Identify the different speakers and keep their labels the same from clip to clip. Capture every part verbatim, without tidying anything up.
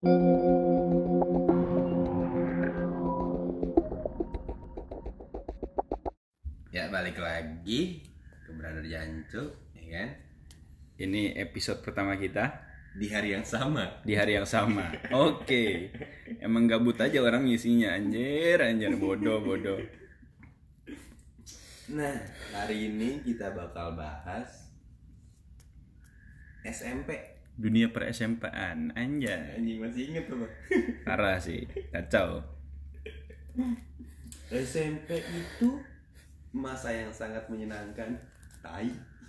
Speaker 1: Ya balik lagi ke Brother Jancu, ya kan?
Speaker 2: Ini episode pertama kita
Speaker 1: Di hari yang sama.
Speaker 2: di hari yang sama. Oke, emang gabut aja orang ngisinya, anjir, anjir, bodoh, bodoh.
Speaker 1: Nah, hari ini kita bakal bahas S M P.
Speaker 2: Dunia per S M P-an, anjay.
Speaker 1: Anjing masih inget tuh bang.
Speaker 2: Parah sih, kacau.
Speaker 1: S M P itu masa yang sangat menyenangkan. Tai.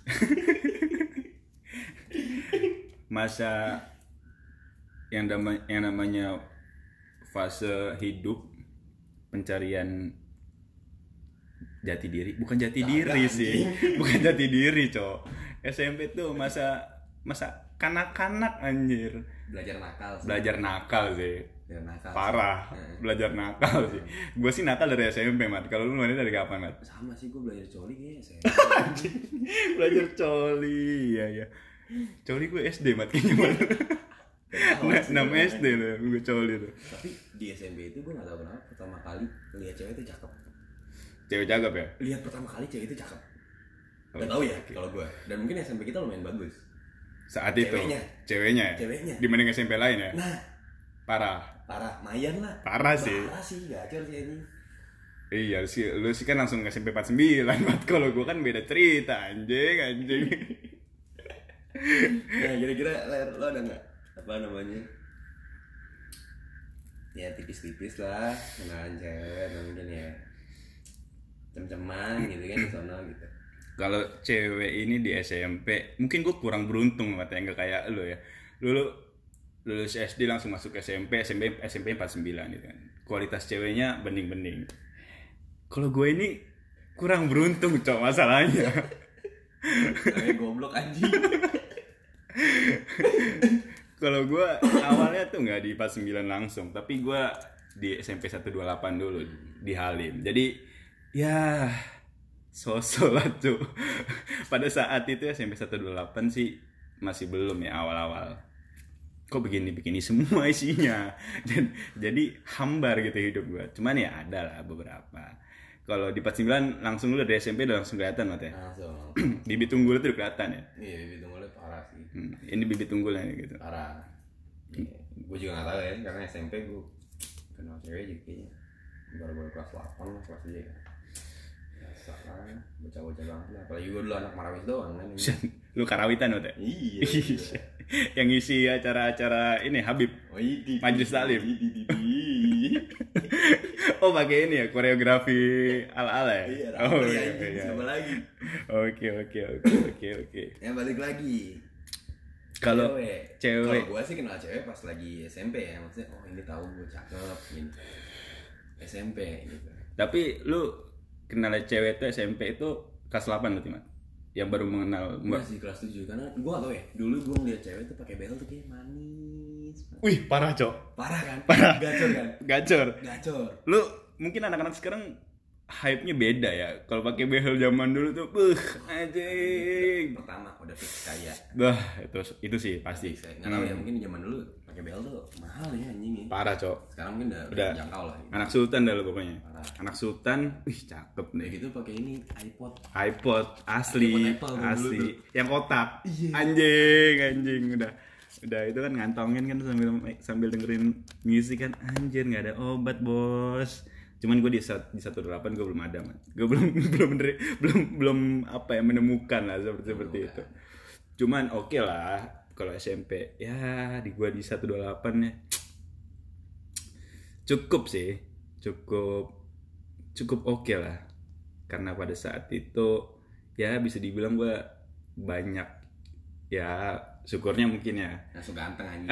Speaker 2: Masa yang, dama- yang namanya fase hidup pencarian jati diri, bukan jati
Speaker 1: Kagak,
Speaker 2: diri sih,
Speaker 1: anjing.
Speaker 2: bukan jati diri, cok. S M P tuh masa masa kanak-kanak, anjir.
Speaker 1: Belajar nakal sih.
Speaker 2: Belajar nakal sih.
Speaker 1: Belajar nakal.
Speaker 2: Parah,
Speaker 1: Sih.
Speaker 2: belajar nakal sih. Gue sih nakal dari S M P, Mat. Kalau lu mana dari kapan, Mat?
Speaker 1: Sama sih, gue belajar coli kayaknya S M P.
Speaker 2: Belajar coli, iya ya. Coli gue S D, Mat, kayaknya, Mat. Nah, enam S D loh, gue coli tuh.
Speaker 1: Tapi di S M P itu gue gak tau kenapa pertama kali lihat cewek itu cakep.
Speaker 2: Cewek cakep ya?
Speaker 1: Lihat pertama kali cewek itu cakep. Gak tau ya kalau gue. Dan mungkin S M P kita lumayan bagus.
Speaker 2: Saat itu.
Speaker 1: Ceweknya.
Speaker 2: Ceweknya.
Speaker 1: Ceweknya.
Speaker 2: Dibanding S M P lain ya?
Speaker 1: Nah,
Speaker 2: Parah.
Speaker 1: parah, mayan lah.
Speaker 2: Parah sih.
Speaker 1: Parah sih, gacor sih ini.
Speaker 2: Iya sih, lu sih kan langsung S M P empat puluh sembilan, Mat. Kalau gue kan beda cerita, anjing, anjing.
Speaker 1: Nah, kira-kira ler lo ada nggak apa namanya? Ya tipis-tipis lah, kenalan cewek mungkin ya. Cem-ceman gitu kan di sono gitu.
Speaker 2: Kalau cewek ini di S M P, mungkin gue kurang beruntung, Mat, ya, nggak kayak lu ya. Lu lulus S D langsung masuk S M P, S M P S M P empat puluh sembilan gitu kan. Kualitas ceweknya bening-bening. Kalau gue ini kurang beruntung, cok, masalahnya.
Speaker 1: Kayak goblok anjing.
Speaker 2: Kalau gue awalnya tuh nggak di empat puluh sembilan langsung, tapi gue di S M P seratus dua puluh delapan dulu di Halim. Jadi ya sosok lah tuh. Pada saat itu S M P seratus dua puluh delapan sih masih belum ya, awal-awal. Kok begini-begini semua isinya. Dan jadi hambar gitu hidup gue. Cuman ya ada lah beberapa. Kalau di empat puluh sembilan langsung lu dari S M P udah langsung kelihatan, Mat, ya.
Speaker 1: Langsung.
Speaker 2: Bibit unggul itu udah kelihatan ya.
Speaker 1: Iya, bibit unggulnya parah sih.
Speaker 2: Hmm, ini bibit unggulnya gitu.
Speaker 1: Parah. Iya. Gue juga gak tahu ya, karena S M P gue kenal cewek juga kayaknya baru-baru kelas delapan lah, kelas tiga ya. Biasa lah, bocah-bocah banget lah. Apalagi gue dulu anak Marawis doang kan.
Speaker 2: Lu karawitan, Mat, ya?
Speaker 1: Iya.
Speaker 2: Yang ngisi acara-acara ini Habib.
Speaker 1: Oh, ini
Speaker 2: Majelis taklim.
Speaker 1: Ini
Speaker 2: Oh, pakai ini ya, koreografi ala-ala ya?
Speaker 1: Iya,
Speaker 2: Oh,
Speaker 1: rapper ya,
Speaker 2: iya,
Speaker 1: anjing.
Speaker 2: iya.
Speaker 1: Siapa lagi?
Speaker 2: Oke, oke, oke, oke, oke.
Speaker 1: Ya balik lagi.
Speaker 2: Kalau
Speaker 1: cewek,
Speaker 2: cewek-
Speaker 1: kalau gue sih kenal cewek pas lagi S M P ya, maksudnya oh ini tahu gue cakep gitu. S M P gitu.
Speaker 2: Tapi lu kenal cewek itu S M P itu kelas delapan berarti, Mat? Yang baru mengenal
Speaker 1: Gue
Speaker 2: Mbak.
Speaker 1: masih kelas tujuh karena gue gak tau ya. Dulu gue ngeliat cewek tuh pakai behel tuh kayak manis.
Speaker 2: Wih, parah, Cok.
Speaker 1: Parah kan?
Speaker 2: Parah.
Speaker 1: Gacor kan?
Speaker 2: Gacor.
Speaker 1: Gacor.
Speaker 2: Lu mungkin anak-anak sekarang hype-nya beda ya. Kalau pakai behel zaman dulu tuh, buh, anjing.
Speaker 1: Pertama udah fix kaya.
Speaker 2: Bah, itu itu sih pasti.
Speaker 1: Saya nggak tahu ya, mungkin zaman dulu pakai behel tuh mahal ya anjing ya.
Speaker 2: Parah, Cok.
Speaker 1: Sekarang mungkin udah,
Speaker 2: Udah.
Speaker 1: jangkau lah.
Speaker 2: Anak sultan dah lu pokoknya.
Speaker 1: Parah.
Speaker 2: Anak sultan, wih cakep
Speaker 1: Udah
Speaker 2: nih.
Speaker 1: gitu pakai ini iPod.
Speaker 2: iPod asli,
Speaker 1: iPod Apple dulu
Speaker 2: asli.
Speaker 1: tuh.
Speaker 2: Yang kotak.
Speaker 1: Iya.
Speaker 2: Anjing, anjing udah. Udah itu kan ngantongin kan sambil sambil dengerin musik kan, anjir nggak ada obat, Bos. Cuman gue di sat- di satu delapan gue belum ada, Man. Gue belum belum mener- belum belum apa ya menemukan lah seperti seperti itu. Cuman oke lah kalau S M P ya di gue di satu dua delapan ya. Cukup sih. Cukup cukup oke lah. Karena pada saat itu ya bisa dibilang gue banyak ya syukurnya mungkin ya.
Speaker 1: Langsung ganteng anjing.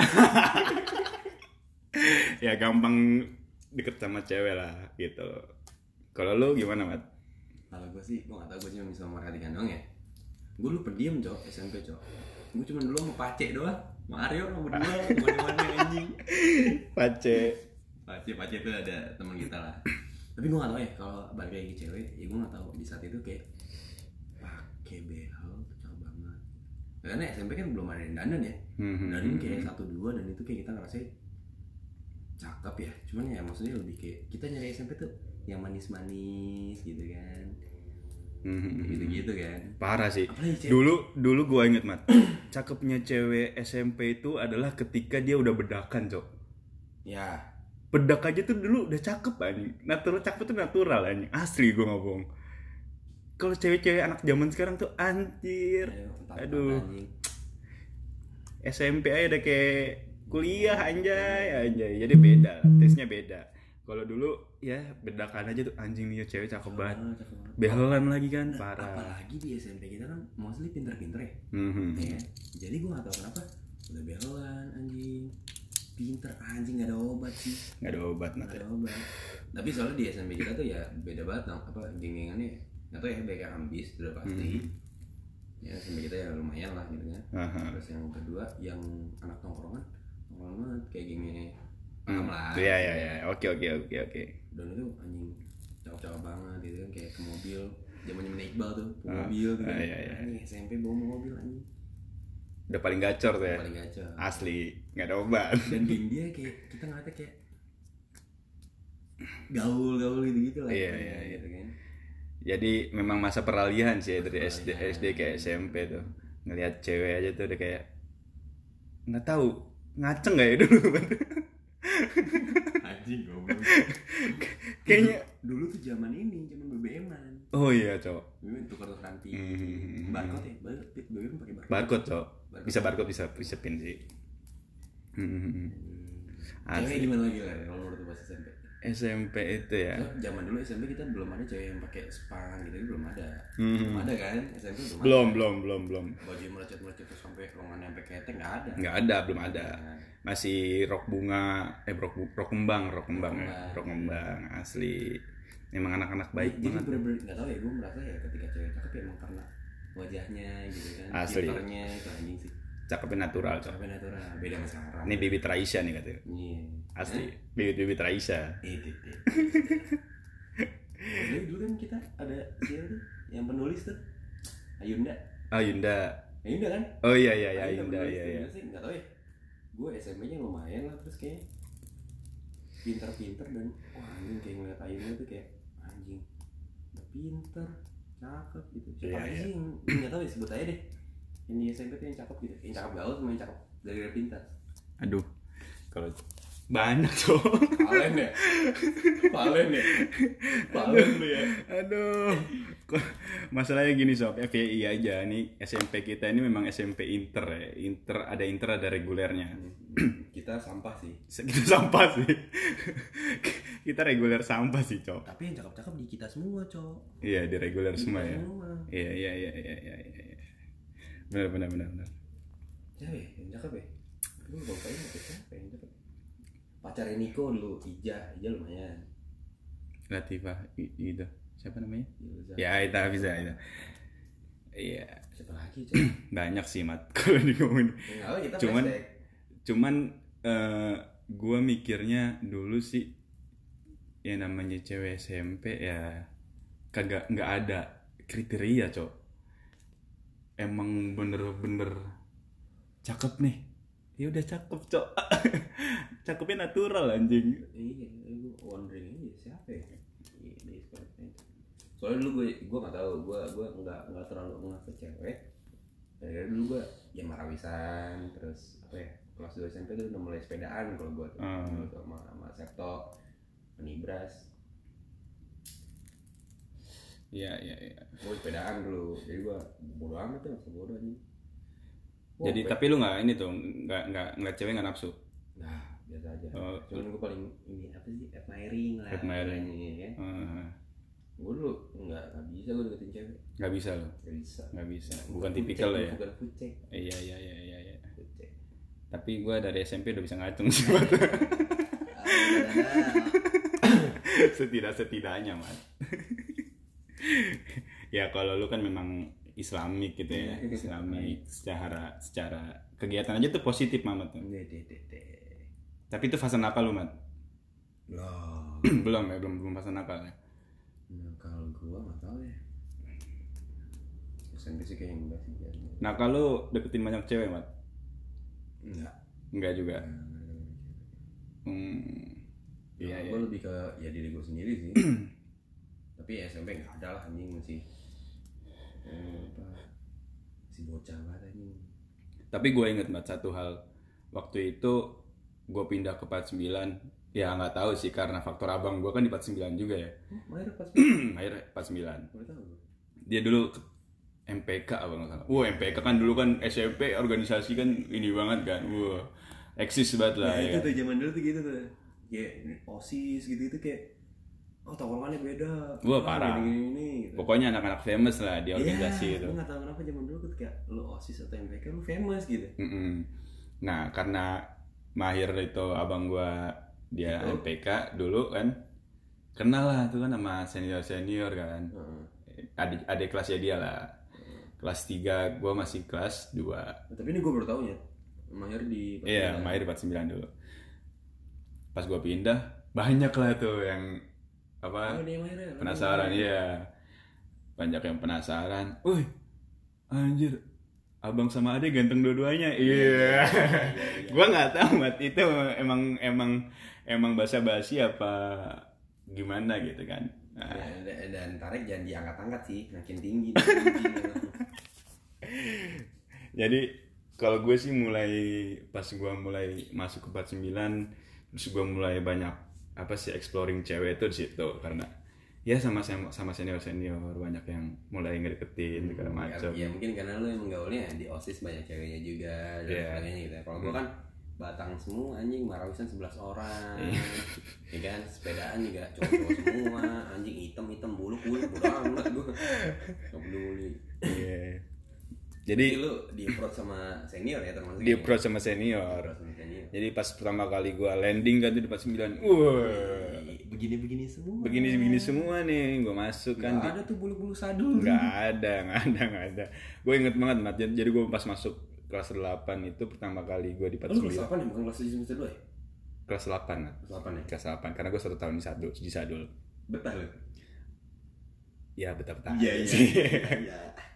Speaker 2: Ya gampang deket sama cewek lah gitu. Kalau lu gimana, Mat?
Speaker 1: Kalau gue sih, gue gak tau, gue cuma bisa merhatikan doang ya. Gue dulu pendiam, Cok, S M P, Cok. Gue cuma dulu sama Pace doang. Mario sama berdua, kemana-mana anjing.
Speaker 2: Pace.
Speaker 1: Pace, Pace itu ada teman kita lah. Tapi gue gak tau ya, kalau balik lagi ke cewek, ya gue gak tau di saat itu kayak pakai behel tuh cakep banget. Karena S M P kan belum ada yang dandan ya.
Speaker 2: Hmm,
Speaker 1: Dandan kayak satu dua dan itu kayak kita ngerasa cakep ya, cuman ya maksudnya lebih kayak kita nyari S M P tuh yang manis-manis gitu kan,
Speaker 2: Hmm.
Speaker 1: gitu-gitu kan.
Speaker 2: Parah sih.
Speaker 1: Apalagi cewek-
Speaker 2: Dulu dulu gue inget mat, cakepnya cewek S M P itu adalah ketika dia udah bedakan cok.
Speaker 1: Ya,
Speaker 2: Bedak aja tuh dulu udah cakep anjing. Natural cakep tuh natural anjing. Asli gue ngomong. Kalau cewek-cewek anak zaman sekarang tuh anjir.
Speaker 1: ayo, entah-entah
Speaker 2: Aduh.
Speaker 1: anjing.
Speaker 2: S M P aja udah kayak kuliah anjay anjay. Jadi beda, tesnya beda. Kalau dulu ya bedakan aja tuh anjing nih cewek cakep banget.
Speaker 1: Ah, cakep banget.
Speaker 2: Behelan lagi kan
Speaker 1: Nah,
Speaker 2: parah.
Speaker 1: apalagi di S M P kita kan mostly pinter-pinter ya,
Speaker 2: Mhm.
Speaker 1: ya kan? Jadi gue gak tau kenapa udah behelan anjing, pinter anjing, gak ada obat sih,
Speaker 2: Nggak ada obat
Speaker 1: gak
Speaker 2: mat.
Speaker 1: ada obat. Tapi soalnya di S M P kita tuh ya beda banget dong, apa geng-gengannya gak tau ya, banyak yang ambis udah pasti. Ya S M P kita ya lumayan lah gitu kan.
Speaker 2: Aha.
Speaker 1: Terus yang kedua yang anak tongkrongan, tongkrongan banget kayak gengnya
Speaker 2: Hmm.
Speaker 1: paham lah.
Speaker 2: Iya iya iya. Oke oke oke oke.
Speaker 1: Dan itu anjing cakep-cakep banget gitu kan, kayak ke mobil zaman-zaman Iqbal tuh, ke
Speaker 2: Ah,
Speaker 1: mobil gitu kan.
Speaker 2: ah, iya, iya.
Speaker 1: Anjing S M P bawa mobil anjing.
Speaker 2: Udah paling gacor tuh ya.
Speaker 1: Paling gacor.
Speaker 2: Asli, nggak ada obat.
Speaker 1: Dan geng dia kayak kita ngeliatnya kayak gaul-gaul gitu-gitu lah.
Speaker 2: Iya, iya, iya.
Speaker 1: Gitu kan.
Speaker 2: Jadi memang masa peralihan sih ya, dari S D S D ke S M P tuh. Ngelihat cewek aja tuh udah kayak nggak tahu ngaceng nggak ya dulu.
Speaker 1: Anjing goblok.
Speaker 2: Kayaknya
Speaker 1: Dulu tuh zaman ini, zaman B B M-an.
Speaker 2: oh iya cowok.
Speaker 1: B B M tukar-tukaran pin.
Speaker 2: Hmm.
Speaker 1: Barcode ya? Barcode. B B M pakai barcode.
Speaker 2: Barcode cowok. Bisa barcode bisa bisa pin sih. Hmm.
Speaker 1: Hmm.
Speaker 2: Asli.
Speaker 1: Cewek gimana lagi lah kalau menurut lu pas S M P?
Speaker 2: S M P itu ya.
Speaker 1: So, zaman dulu S M P kita belum ada cewek yang pakai span gitu, belum ada.
Speaker 2: Hmm.
Speaker 1: Belum ada kan? S M P belum.
Speaker 2: Belum
Speaker 1: ada.
Speaker 2: belum belum belum.
Speaker 1: Baju melecet-melecet terus sampai lengannya sampai ketek enggak ada.
Speaker 2: Nggak ada belum ada. Masih rok bunga eh rok bu- rok kembang rok kembang ya.
Speaker 1: Kembang.
Speaker 2: Rok kembang asli. Emang anak-anak baik
Speaker 1: Jadi
Speaker 2: banget.
Speaker 1: bener-bener nggak tahu ya, gue merasa ya ketika cewek cakep ya emang karena wajahnya gitu kan,
Speaker 2: Asli.
Speaker 1: pinternya itu anjing sih,
Speaker 2: Cakepnya natural cowok.
Speaker 1: cakepnya natural, beda sama sekarang.
Speaker 2: Ini bibit Raisya nih katanya.
Speaker 1: Iya.
Speaker 2: Asli, bibit-bibit Raisya.
Speaker 1: Itu itu. Jadi dulu kan kita ada siapa tuh yang penulis tuh, Ayunda.
Speaker 2: Oh Yunda.
Speaker 1: Ayunda kan?
Speaker 2: Oh iya iya iya
Speaker 1: Ayunda
Speaker 2: Yunda
Speaker 1: penulis
Speaker 2: iya
Speaker 1: tuh,
Speaker 2: iya.
Speaker 1: gila sih nggak tahu ya. Gue S M P-nya lumayan lah, terus kayak pinter-pinter dan wah anjing kayak ngeliat Ayunda tuh kayak anjing, udah pinter, cakep gitu. Siapa
Speaker 2: Iya,
Speaker 1: lagi
Speaker 2: iya.
Speaker 1: sih yang nggak tahu ya, sebut aja deh. Yang di S M P tuh yang cakep gitu, yang cakep gaul sama yang cakep dari pintar.
Speaker 2: Aduh. Kalau banyak cowok.
Speaker 1: Palen ya, palen ya, palen lu ya.
Speaker 2: Aduh. Kok masalahnya gini sob, F Y I aja nih S M P kita ini memang S M P inter ya. Inter ada inter ada regulernya.
Speaker 1: Kita sampah sih.
Speaker 2: Kita sampah sih. Kita reguler sampah sih, Cok.
Speaker 1: Tapi yang cakep-cakep di kita semua, Cok.
Speaker 2: Iya, di reguler
Speaker 1: Di
Speaker 2: semua
Speaker 1: kita
Speaker 2: ya.
Speaker 1: semua.
Speaker 2: Iya, iya, iya, iya, iya, iya. Benar, benar, benar, benar.
Speaker 1: Cewek yang cakep ya. Lu lupa ini siapa yang cakep? Pacarnya Niko dulu, Ija, Ija lumayan.
Speaker 2: Latifah i- itu. Siapa namanya?
Speaker 1: Ilza.
Speaker 2: Ya, itu bisa itu. Iya,
Speaker 1: Siapa lagi, Cok?
Speaker 2: banyak sih, Mat. Kalau ngomongin.
Speaker 1: Enggak apa kita
Speaker 2: Cuman
Speaker 1: flashback.
Speaker 2: cuman eh gua mikirnya dulu sih yang namanya cewek S M P ya kagak nggak ada kriteria, Cok. Emang bener-bener cakep nih. Ya udah cakep, Cok. Cakepnya natural anjing.
Speaker 1: Iya, gue wondering aja siapa ya? Iya, di sekolah itu. Soalnya dulu gue gue nggak tahu, gue gue nggak nggak terlalu ngeh ke cewek. Dari dulu gue ya marawisan, terus apa ya? Kelas dua S M P tuh udah mulai sepedaan kalau gue tuh,
Speaker 2: Hmm.
Speaker 1: Dulu sama sama Septo, Penibras.
Speaker 2: Iya, iya, iya.
Speaker 1: Gue sepedaan dulu, jadi gue bodo amat tuh, masa bodo aja.
Speaker 2: Jadi tapi lu nggak ini tuh nggak nggak nggak cewek nggak nafsu.
Speaker 1: nah biasa aja.
Speaker 2: Oh.
Speaker 1: Cuman gue paling ini apa sih? Admiring lah.
Speaker 2: Admiring.
Speaker 1: Ini kan.
Speaker 2: Eh,
Speaker 1: Gue dulu nggak nggak bisa gue deketin cewek.
Speaker 2: nggak bisa lo,
Speaker 1: Nggak bisa.
Speaker 2: nggak bisa.
Speaker 1: Bukan
Speaker 2: Bukan
Speaker 1: food
Speaker 2: tipikal
Speaker 1: check,
Speaker 2: lo ya.
Speaker 1: Bukan food check.
Speaker 2: Iya, iya, iya, iya, iya.
Speaker 1: Food check.
Speaker 2: Tapi gue dari S M P udah bisa ngacung sih, Mat. Setidak-setidaknya, Mat. Ya kalau lu kan memang Islamik gitu ya, Islamik secara secara kegiatan aja tuh positif, Mamat.
Speaker 1: Deh, deh, deh, deh.
Speaker 2: Tapi itu fase nakal lu, Mat.
Speaker 1: Loh.
Speaker 2: belum ya, belum belum fase nakal ya.
Speaker 1: Nah kalau gua nggak tahu ya. S M P sih kayaknya enggak sih. Ya.
Speaker 2: Nakal lu deketin banyak cewek, Mat?
Speaker 1: Enggak.
Speaker 2: Enggak juga.
Speaker 1: Enggak, enggak, enggak.
Speaker 2: Hmm.
Speaker 1: Kalau gue lebih ke ya diri gue sendiri sih. Tapi S M P nggak ada lah anjing, masih eh, apa si bocah banget anjing.
Speaker 2: Tapi gue inget banget satu hal, waktu itu gue pindah ke empat puluh sembilan, ya nggak tahu sih karena faktor abang gue kan di empat puluh sembilan juga ya.
Speaker 1: Oh, Mahir pas sembilan.
Speaker 2: Mahir empat puluh sembilan.
Speaker 1: Boleh tahu gue.
Speaker 2: Dia dulu M P K abang nggak salah. Wah M P K kan dulu kan S M P organisasi kan ini banget kan, wah eksis banget lah.
Speaker 1: Nah,
Speaker 2: ya.
Speaker 1: itu tuh zaman dulu tuh gitu tuh. Kayak OSIS gitu-gitu kayak oh tongkrongannya beda.
Speaker 2: Wah
Speaker 1: Ah,
Speaker 2: parah.
Speaker 1: gini-gini gitu.
Speaker 2: Pokoknya anak-anak famous lah di organisasi
Speaker 1: Iya,
Speaker 2: itu.
Speaker 1: gue gak tau kenapa zaman dulu tuh kayak lu OSIS atau M P K lu famous gitu.
Speaker 2: Mm-mm. Nah karena Mahir itu abang gua dia
Speaker 1: Itu.
Speaker 2: M P K dulu kan, kenal lah tuh kan sama senior senior kan.
Speaker 1: Heeh.
Speaker 2: Adik adik kelasnya dia lah. Kelas tiga gua masih kelas dua.
Speaker 1: Nah, tapi ini gue baru tahu ya. Mahir di
Speaker 2: Iya Mahir empat puluh sembilan dulu. Pas gua pindah banyak lah tuh yang apa
Speaker 1: Oh, dia Mahir ya.
Speaker 2: penasaran ya, banyak yang penasaran. Wih anjir, abang sama ade ganteng dua-duanya. Iya. Gua nggak tahu mat itu emang emang emang basa-basi apa gimana gitu kan. Nah,
Speaker 1: Ya, dan, dan tarik jangan diangkat-angkat sih, makin tinggi.
Speaker 2: jadi kalau gue sih mulai pas gue mulai masuk ke empat puluh sembilan, terus gue mulai banyak apa sih exploring cewek itu di situ karena ya sama sama senior senior banyak yang mulai ngedeketin segala macam.
Speaker 1: Ya mungkin karena lu emang gaulnya di OSIS banyak ceweknya juga dan
Speaker 2: Iya.
Speaker 1: sebagainya gitu ya. Kalau gue kan Batang semua anjing, Marawisan sebelas orang. Ya kan, sepedaan juga cowok-cowok semua, anjing hitam-hitam bulu-bulu bodo amat gue. Enggak peduli.
Speaker 2: Iya.
Speaker 1: Jadi
Speaker 2: Jadi
Speaker 1: lu di approach sama senior ya termasuk.
Speaker 2: di
Speaker 1: ya?
Speaker 2: approach sama senior.
Speaker 1: Approach sama senior.
Speaker 2: Jadi pas pertama kali gue landing kan di empat puluh sembilan, wah
Speaker 1: Begini-begini semua.
Speaker 2: begini-begini semua nih gue masuk kan.
Speaker 1: Nggak ada tuh bulu-bulu sadul.
Speaker 2: Nggak ada, nggak ada, nggak ada. Gue inget banget, Mat. Jadi gue pas masuk kelas delapan itu pertama kali gue di empat
Speaker 1: Lu
Speaker 2: puluh
Speaker 1: kelas
Speaker 2: sembilan.
Speaker 1: delapan ya, bukan kelas tujuh semester dua ya?
Speaker 2: Kelas delapan, Mat.
Speaker 1: Kelas delapan ya?
Speaker 2: Kelas delapan, karena gue satu tahun di Sadul, di Sadul.
Speaker 1: Betah lu?
Speaker 2: Ya betah-betah
Speaker 1: Iya,
Speaker 2: aja
Speaker 1: iya.
Speaker 2: sih.
Speaker 1: Iya.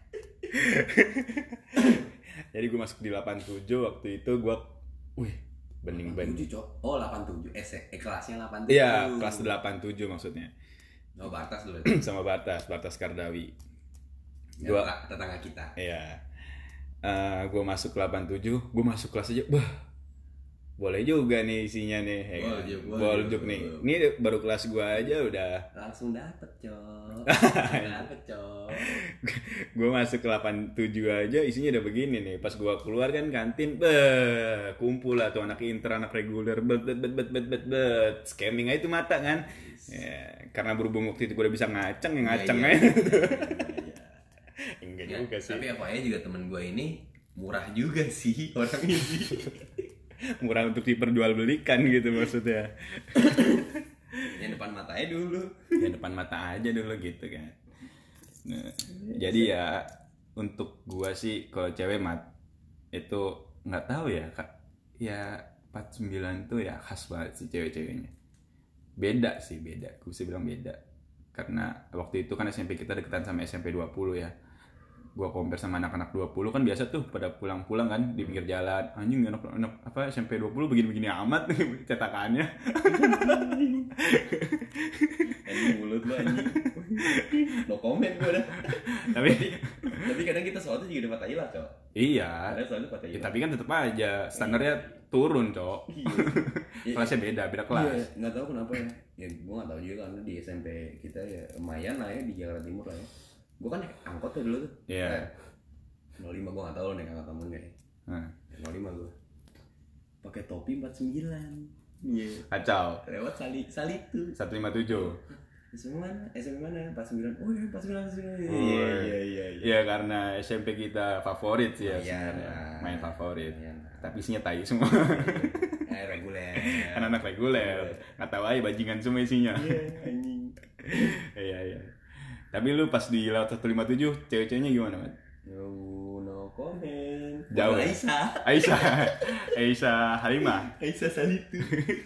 Speaker 2: Jadi gue masuk di delapan puluh tujuh waktu itu gue, wih, bening-bening.
Speaker 1: tujuh, Cok. Oh, delapan puluh tujuh. Eh, se- eh kelasnya delapan puluh tujuh.
Speaker 2: Iya, kelas delapan puluh tujuh maksudnya.
Speaker 1: Oh, Bartas dulu.
Speaker 2: Sama Batas, Batas Kardawi.
Speaker 1: Ya,
Speaker 2: Gua,
Speaker 1: tetangga- tetangga kita.
Speaker 2: iya. Eh gue masuk delapan puluh tujuh, gue masuk kelas aja, wah, boleh juga nih isinya nih. ya kan?
Speaker 1: Boljuk, boljuk,
Speaker 2: Boljuk nih.
Speaker 1: boljuk.
Speaker 2: Ini baru kelas gue aja udah.
Speaker 1: Langsung dapet, Cok. Langsung dapet, Cok.
Speaker 2: Gue masuk ke delapan puluh tujuh aja isinya udah begini nih. Pas gue keluar kan kantin, beh, kumpul lah tuh anak inter, anak reguler, bet bet bet bet bet bet bet, scamming aja tuh mata kan. Ya, karena berhubung waktu itu gue udah bisa ngaceng, ya ngaceng
Speaker 1: Iya,
Speaker 2: aja.
Speaker 1: iya.
Speaker 2: Enggak
Speaker 1: Ya,
Speaker 2: juga sih.
Speaker 1: tapi apa ya juga temen gue ini murah juga sih orangnya sih.
Speaker 2: Murah untuk diperjualbelikan gitu maksudnya.
Speaker 1: Yang depan matanya dulu.
Speaker 2: Ya depan mata aja dulu gitu kan. Nah, jadi ya untuk gua sih kalau cewek mat itu nggak tahu ya kak, ya empat puluh sembilan tuh ya khas banget sih cewek-ceweknya. Beda sih, beda. Gue bisa bilang beda. Karena waktu itu kan S M P kita deketan sama S M P dua puluh ya. Gua compare sama anak-anak dua puluh kan biasa tuh pada pulang-pulang kan di pinggir jalan. Anjing anak-anak apa S M P dua puluh begini-begini amat cetakannya.
Speaker 1: Anjing mulut lu anjing. No comment gue dah.
Speaker 2: Tapi
Speaker 1: Tapi kadang kita soalnya juga dapat ilah, Cok.
Speaker 2: iya.
Speaker 1: Kadang soalnya dapat
Speaker 2: Ya,
Speaker 1: ilah.
Speaker 2: tapi kan tetap aja standarnya turun, Cok.
Speaker 1: Iya.
Speaker 2: Kelasnya beda, beda kelas.
Speaker 1: Iya, nggak tahu kenapa ya. Ya gue nggak tahu juga karena di S M P kita ya lumayan lah ya di Jakarta Timur lah ya. Gue kan naik angkot tuh dulu tuh.
Speaker 2: Iya.
Speaker 1: Eh, nol lima gue nggak tahu lo naik angkot kamu nggak ya.
Speaker 2: Nah,
Speaker 1: nol lima gue. Pakai topi empat puluh sembilan. Iya.
Speaker 2: kacau.
Speaker 1: Lewat sali sali tuh.
Speaker 2: seratus lima puluh tujuh.
Speaker 1: S M P mana? S M P mana? empat puluh sembilan. Oh iya empat puluh sembilan. empat puluh sembilan.
Speaker 2: Oh,
Speaker 1: Iya iya iya.
Speaker 2: Iya, karena S M P kita favorit sih ya.
Speaker 1: Iya,
Speaker 2: sebenarnya.
Speaker 1: nah.
Speaker 2: Main favorit.
Speaker 1: Iya, nah.
Speaker 2: Tapi isinya tai semua.
Speaker 1: Eh reguler.
Speaker 2: Anak-anak reguler. Nggak tahu aja bajingan semua isinya.
Speaker 1: Iya anjing.
Speaker 2: Iya, iya. Tapi lu pas di laut seratus lima puluh tujuh, cewek-ceweknya gimana, Mat?
Speaker 1: No, no comment.
Speaker 2: Jauh ya?
Speaker 1: Aisyah.
Speaker 2: Aisyah. Aisyah Halimah.
Speaker 1: Aisyah Salitu.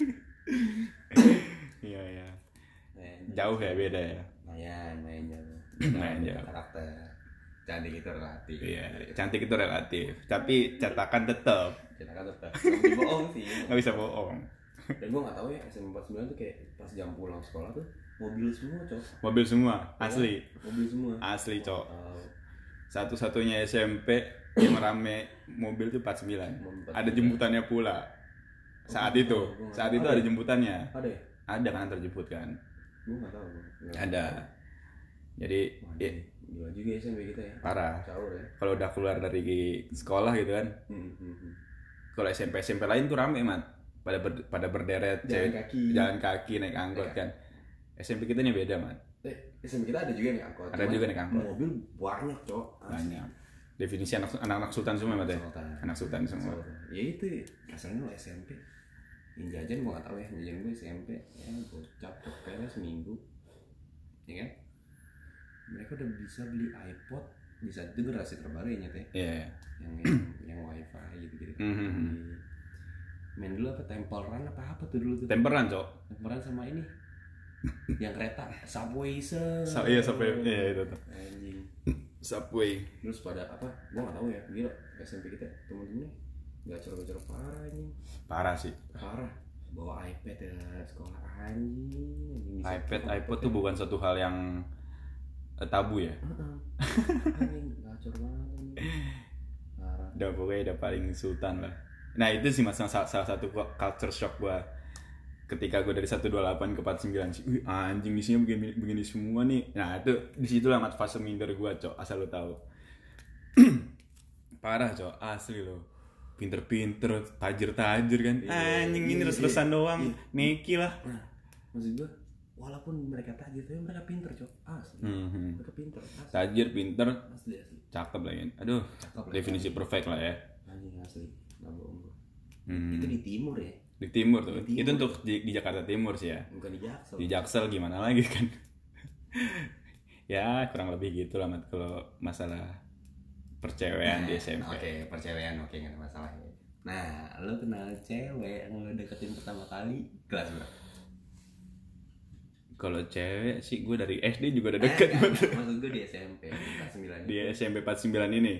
Speaker 2: Iya, iya.
Speaker 1: Main.
Speaker 2: Jauh ya, beda ya.
Speaker 1: Lumayan, main jauh.
Speaker 2: Main jauh.
Speaker 1: Karakter. Cantik itu relatif.
Speaker 2: Iya, cantik itu relatif. Tapi cetakan tetap
Speaker 1: Kita kan tetap. Nggak bisa bohong sih.
Speaker 2: nggak bisa bohong.
Speaker 1: Dan gue nggak tahu ya S M P empat puluh sembilan tuh kayak pas jam pulang sekolah tuh mobil semua cok.
Speaker 2: Mobil semua, asli.
Speaker 1: Ya, mobil semua.
Speaker 2: Asli cok.
Speaker 1: Wow.
Speaker 2: Satu-satunya S M P yang rame mobil tuh empat puluh sembilan. Ada jemputannya pula. Saat oh, itu, gua saat itu ada jemputannya.
Speaker 1: Ada ya?
Speaker 2: Ada kan terjemput kan?
Speaker 1: Gue nggak tahu. Gak
Speaker 2: ada. Jadi,
Speaker 1: wah, ya, gila juga S M P kita ya.
Speaker 2: Parah.
Speaker 1: Caur ya.
Speaker 2: Kalau udah keluar dari sekolah gitu kan.
Speaker 1: Hmm, hmm, hmm.
Speaker 2: Kalau S M P S M P lain tuh rame mat. Pada ber, pada berderet,
Speaker 1: jalan
Speaker 2: cewek,
Speaker 1: kaki,
Speaker 2: jalan kaki naik angkot kan. S M P kita nih beda mat.
Speaker 1: Eh, S M P kita ada juga naik angkot.
Speaker 2: Ada juga naik angkot.
Speaker 1: Mobil banyak cok.
Speaker 2: Banyak. Definisi anak anak sultan semua mat ya. Anak sultan semua.
Speaker 1: Ya itu kasarnya lo S M P. Yang jajan gue gak tau ya, jajan gue S M P ya gocap kayaknya seminggu ya kan. Mereka udah bisa beli iPod di saat itu generasi terbaru ya nyata ya.
Speaker 2: Yeah.
Speaker 1: Yang, yang yang wifi gitu-gitu. Mm-hmm. Main dulu apa Temple Run apa apa tuh dulu tuh.
Speaker 2: Temple Run cok.
Speaker 1: Temple Run sama ini yang kereta Subway se.
Speaker 2: So, iya Subway, iya itu tuh.
Speaker 1: Anjing.
Speaker 2: Subway.
Speaker 1: Terus pada apa? Gue gak tahu ya, gila S M P kita temen-temennya gacor-gacor parah anjing.
Speaker 2: Parah sih.
Speaker 1: Parah. Bawa iPad ya sekolah anjing.
Speaker 2: iPad, iPod tuh bukan suatu hal yang tabu ya.
Speaker 1: Heeh. Anjing gacor banget anjing. Parah.
Speaker 2: Udah pokoknya udah paling sultan lah. Nah itu sih mas salah, salah satu culture shock gua ketika gua dari seratus dua puluh delapan ke empat puluh sembilan sih. Wih anjing isinya begini begini semua nih. Nah itu disitulah mat fase minder gua cok, asal lo tahu. Parah cok, asli lo. Pinter-pinter, tajir-tajir kan. Iya, anjing ini terus-terusan iya, doang. Iya. Neki lah.
Speaker 1: Nah, maksud gua walaupun mereka tajir tapi mereka pinter cok. Asli. Mm-hmm. Mereka pinter. Asli.
Speaker 2: Tajir, pinter.
Speaker 1: Asli asli. Cakep
Speaker 2: lah kan. Aduh. Cakep definisi lah. Perfect lah ya.
Speaker 1: Anjing asli. Enggak bohong gua.
Speaker 2: Hmm.
Speaker 1: Itu di timur ya.
Speaker 2: Di timur tuh. Di timur. Itu untuk di, di Jakarta Timur sih ya.
Speaker 1: Bukan di Jaksel.
Speaker 2: Di Jaksel gimana lagi kan. Ya kurang lebih gitu lah mat kalau masalah percewean nah, di S M P.
Speaker 1: Oke, okay, percewean oke okay, enggak ada masalah ya. Nah, lo kenal cewek yang lo deketin pertama kali kelas berapa?
Speaker 2: Kalau cewek sih gue dari S D juga udah deket.
Speaker 1: Eh, maksud gue di S M P empat puluh sembilan.
Speaker 2: Di S M P empat puluh sembilan ini.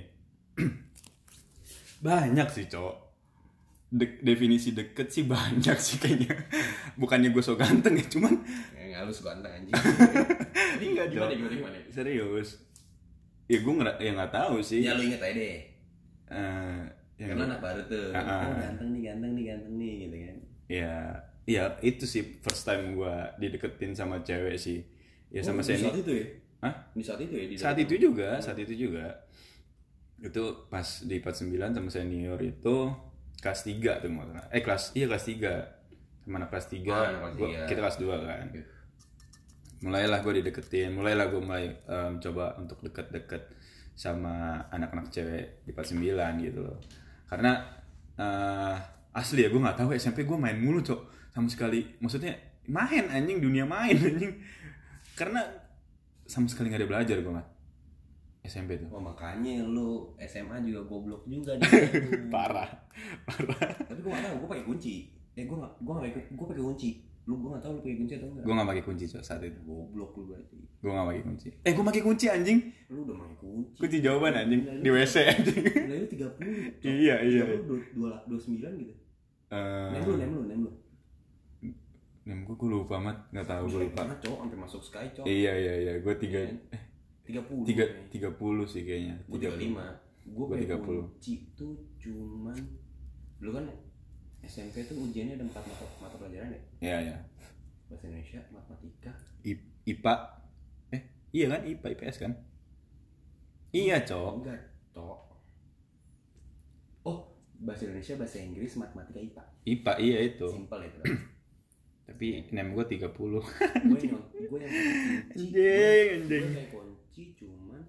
Speaker 2: Banyak sih, Cok. De- definisi deket sih banyak sih kayaknya. Bukannya gue so ganteng ya, cuman
Speaker 1: enggak lu so ganteng anjing.
Speaker 2: Ini enggak gimana, gimana, gimana? Serius. Ya gue nggak ya nggak tahu sih.
Speaker 1: Ya lu inget aja deh.
Speaker 2: Uh,
Speaker 1: Karena anak baru tuh. Uh, oh ganteng nih, ganteng nih, ganteng nih gitu kan.
Speaker 2: Ya, ya itu sih first time gue dideketin sama cewek sih. Ya sama
Speaker 1: oh,
Speaker 2: Seni.
Speaker 1: Di saat itu ya?
Speaker 2: Hah?
Speaker 1: Di saat itu ya? Di
Speaker 2: saat itu juga, saat itu juga. Itu pas di empat puluh sembilan sama senior itu kelas tiga tuh maksudnya. Eh kelas, iya kelas tiga. Sama anak kelas tiga, oh, gua, kita kelas dua kan. Okay. Mulailah gue dideketin, mulailah gue mulai um, coba untuk deket-deket sama anak-anak cewek di empat puluh sembilan gitu loh. Karena uh, asli ya gue nggak tahu S M P gue main mulu cok sama sekali. Maksudnya main anjing, dunia main anjing. Karena sama sekali nggak ada belajar gue nggak. S M P tuh.
Speaker 1: Oh makanya lu S M A juga goblok juga nih.
Speaker 2: Parah, parah.
Speaker 1: Tapi gue nggak tahu, gue pakai kunci. Eh gue nggak, gue nggak pakai, gue pakai kunci. Lu gue nggak tahu lu pakai kunci atau enggak?
Speaker 2: Gue nggak pakai kunci cok saat itu.
Speaker 1: Goblok lu berarti.
Speaker 2: Gue nggak pakai kunci. Eh gue pakai kunci anjing.
Speaker 1: Lu udah pakai kunci.
Speaker 2: Kunci jawaban anjing di W C anjing.
Speaker 1: Nilai lu tiga puluh.
Speaker 2: Iya iya.
Speaker 1: Lu dua puluh sembilan gitu. Eh. Nem lu, nem lu, nem lu.
Speaker 2: Nem gue gue lupa amat, nggak tahu gue lupa.
Speaker 1: Karena cowok sampai masuk Sky cowok.
Speaker 2: Iya iya iya, gue tiga. Eh.
Speaker 1: tiga puluh
Speaker 2: tiga tiga puluh sih kayaknya.
Speaker 1: Gue tiga puluh lima. Gue
Speaker 2: tiga puluh.
Speaker 1: Kunci tuh cuman dulu kan S M P tuh ujiannya ada empat mata mata pelajaran ya?
Speaker 2: Iya iya.
Speaker 1: Bahasa Indonesia, matematika,
Speaker 2: I, I P A. Eh, iya kan I P A I P S kan? Iya, Cok.
Speaker 1: Enggak, Cok. Oh, bahasa Indonesia, bahasa Inggris, matematika, I P A.
Speaker 2: I P A iya itu.
Speaker 1: Simpel itu.
Speaker 2: Tapi nem gue tiga puluh.
Speaker 1: Gue yang gue yang kunci.
Speaker 2: Anjing,
Speaker 1: gue kayak kunci cuman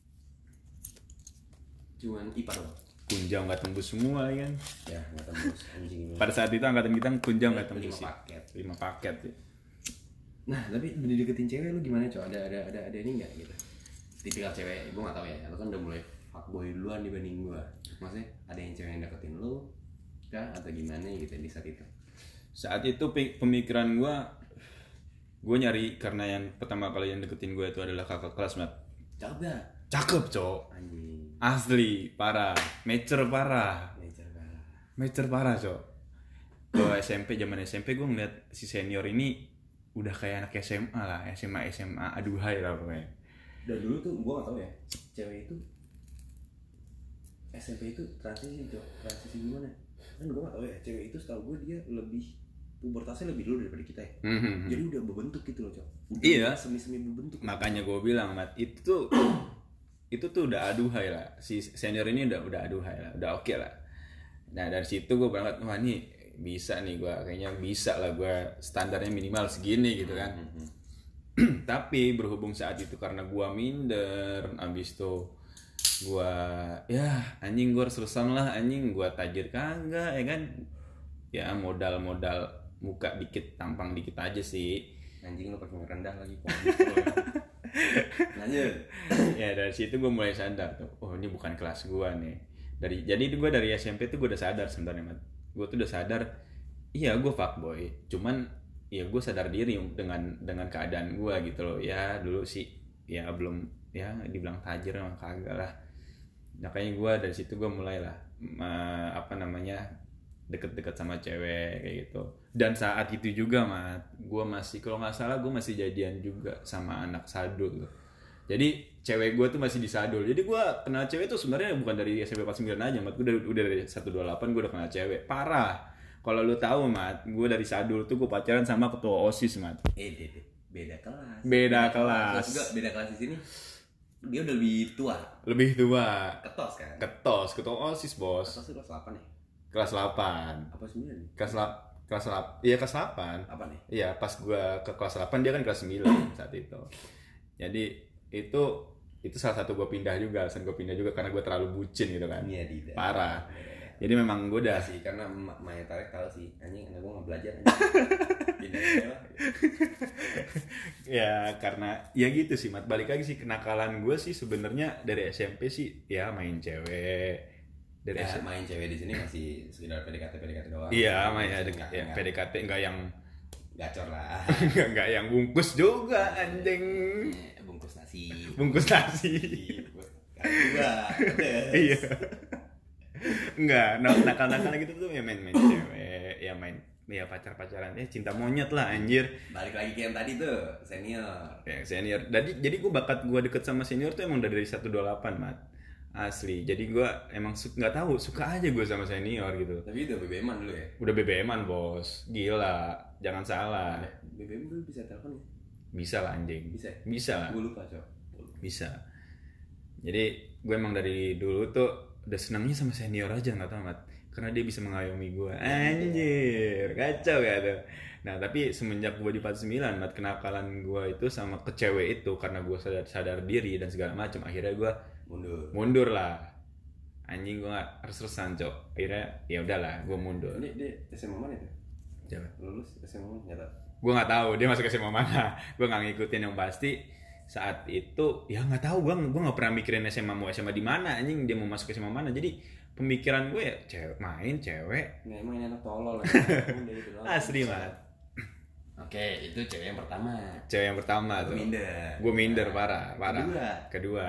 Speaker 1: cuman I P A doang.
Speaker 2: Kunjang nggak tembus semua kan?
Speaker 1: Ya nggak tembus anjing.
Speaker 2: Pada saat itu angkatan kita kunjang nggak tembus
Speaker 1: lima
Speaker 2: sih.
Speaker 1: Paket.
Speaker 2: Lima paket ya.
Speaker 1: Nah tapi dideketin cewek lu gimana cowok? Ada ada ada ada ini nggak gitu? Tipikal cewek, gue nggak tahu ya. Lu kan udah mulai fuckboy duluan dibanding gue. Maksudnya ada yang cewek yang deketin lu, kah atau gimana gitu di saat itu?
Speaker 2: Saat itu pemikiran gue, gue nyari karena yang pertama kali yang deketin gue itu adalah kakak kelas mat.
Speaker 1: Cakep gak?
Speaker 2: Cakep cowok.
Speaker 1: Anjing.
Speaker 2: Asli parah, mature parah.
Speaker 1: Mature parah.
Speaker 2: Mature parah cowok. Kalau S M P, zaman S M P gue ngeliat si senior ini udah kayak anak S M A lah, S M A S M A aduhai lah pokoknya.
Speaker 1: Dan dulu tuh gue gak tau ya, cewek itu S M P itu transisi tuh, transisi gimana? Kan gue gak tau ya, cewek itu setahu gue dia lebih pubertasnya lebih dulu daripada kita ya.
Speaker 2: Mm-hmm.
Speaker 1: Jadi udah berbentuk gitu loh, Cok.
Speaker 2: Iya.
Speaker 1: Semi-semi berbentuk.
Speaker 2: Makanya gue bilang, Mat, itu tuh itu tuh udah aduhai lah. Si senior ini udah udah aduhai lah, udah oke okay lah. Nah dari situ gue berangkat, wah nih bisa nih gue, kayaknya bisa lah gue standarnya minimal segini gitu kan. Mm-hmm. Tapi berhubung saat itu karena gue minder, abis itu gue ya anjing gue harus terusan lah, anjing gue tajir kagak ya kan. Ya modal-modal muka dikit, tampang dikit aja sih.
Speaker 1: Anjing lu pakai rendah lagi. Lanjut.
Speaker 2: Ya dari situ gue mulai sadar tuh, oh ini bukan kelas gue nih. Dari jadi gue dari S M P tuh gue udah sadar sebenarnya, Mat. Gue tuh udah sadar, iya gue fuckboy. Cuman ya gue sadar diri dengan dengan keadaan gue gitu loh. Ya dulu sih ya belum ya dibilang tajir emang kagak lah. Makanya gue dari situ gue mulai lah uh, apa namanya deket-deket sama cewek kayak gitu. Dan saat itu juga, Mat, gue masih kalau nggak salah gue masih jadian juga sama anak sadul. Jadi cewek gue tuh masih di sadul. Jadi gue kenal cewek tuh sebenarnya bukan dari S M P empat puluh sembilan aja, Mat. Gue udah, udah dari seratus dua puluh delapan gue udah kenal cewek. Parah. Kalau lu tahu, Mat, gue dari sadul tuh gue pacaran sama ketua OSIS, Mat.
Speaker 1: Eh, deh, beda kelas.
Speaker 2: Beda kelas.
Speaker 1: Juga beda kelas di sini. Dia udah lebih tua.
Speaker 2: Lebih tua.
Speaker 1: Ketos kan?
Speaker 2: Ketos, ketua OSIS, Bos.
Speaker 1: Ketos itu kelas delapan ya?
Speaker 2: Kelas delapan.
Speaker 1: Apa sembilan?
Speaker 2: Kelas delapan. Kelas delapan. Iya, kelas delapan.
Speaker 1: Apa nih?
Speaker 2: Iya, pas gua ke kelas delapan dia kan kelas sembilan saat itu. Jadi itu itu salah satu gua pindah juga, alasan gua pindah juga karena gua terlalu bucin gitu kan.
Speaker 1: Iya, tidak.
Speaker 2: Parah. Jadi memang gua udah
Speaker 1: sih karena Maya Tarik tahu sih, anjing anak gua enggak belajar. Pindah lah.
Speaker 2: Ya, karena ya gitu sih, Mat. Balik lagi sih kenakalan gua sih sebenarnya dari S M P sih ya main cewek. Dari
Speaker 1: ya, main cewek di sini masih sekedar P D K T P D K T doang.
Speaker 2: Iya, main ya,
Speaker 1: enggak,
Speaker 2: ya
Speaker 1: enggak.
Speaker 2: P D K T enggak yang
Speaker 1: gacor lah.
Speaker 2: enggak enggak yang bungkus juga anjing.
Speaker 1: Bungkus nasi.
Speaker 2: Bungkus nasi.
Speaker 1: Enggak.
Speaker 2: Iya. Enggak, nakal-nakal gitu tuh ya main-main cewek, ya main ya pacar-pacaran, ya cinta monyet lah anjir.
Speaker 1: Balik lagi ke yang tadi tuh, senior.
Speaker 2: Ya senior. Jadi jadi gue bakat gue deket sama senior tuh emang dari seratus dua puluh delapan, Mat. Asli, jadi gue emang su- gak tahu suka aja gue sama senior gitu.
Speaker 1: Tapi udah B B M-an dulu ya?
Speaker 2: Udah B B M-an, Bos. Gila, jangan salah.
Speaker 1: B B M dulu bisa telepon ya?
Speaker 2: Bisa lah anjing.
Speaker 1: Bisa ya?
Speaker 2: Bisa lah.
Speaker 1: Gue lupa, Cok.
Speaker 2: Bisa. Jadi gue emang dari dulu tuh udah senangnya sama senior aja, gak tau, Mat. Karena dia bisa mengayomi gue. Anjir, kacau ya tuh. Nah tapi semenjak gue di empat puluh sembilan, Mat, kenakalan gue itu sama ke cewek itu karena gue sadar, sadar diri dan segala macam. Akhirnya gue
Speaker 1: mundur
Speaker 2: mundur lah, anjing gue nggak harus terusan, Cok. Akhirnya ya udahlah gue mundur.
Speaker 1: Ini dia S M A mana itu?
Speaker 2: Coba.
Speaker 1: Lulus S M A mana? Nggak tahu.
Speaker 2: Gue nggak tahu dia masuk S M A mana. Gue nggak ngikutin, yang pasti saat itu ya nggak tahu, gue gue nggak pernah mikirin S M A mau S M A di mana, anjing dia mau masuk S M A mana. Jadi pemikiran gue ya cewek main cewek.
Speaker 1: Nggak, emang ini anak tolol lah.
Speaker 2: Asli, Mat.
Speaker 1: Oke, itu cewek yang pertama.
Speaker 2: Cewek yang pertama tuh.
Speaker 1: Gue minder.
Speaker 2: Gue minder parah, parah.
Speaker 1: Kedua.
Speaker 2: Kedua.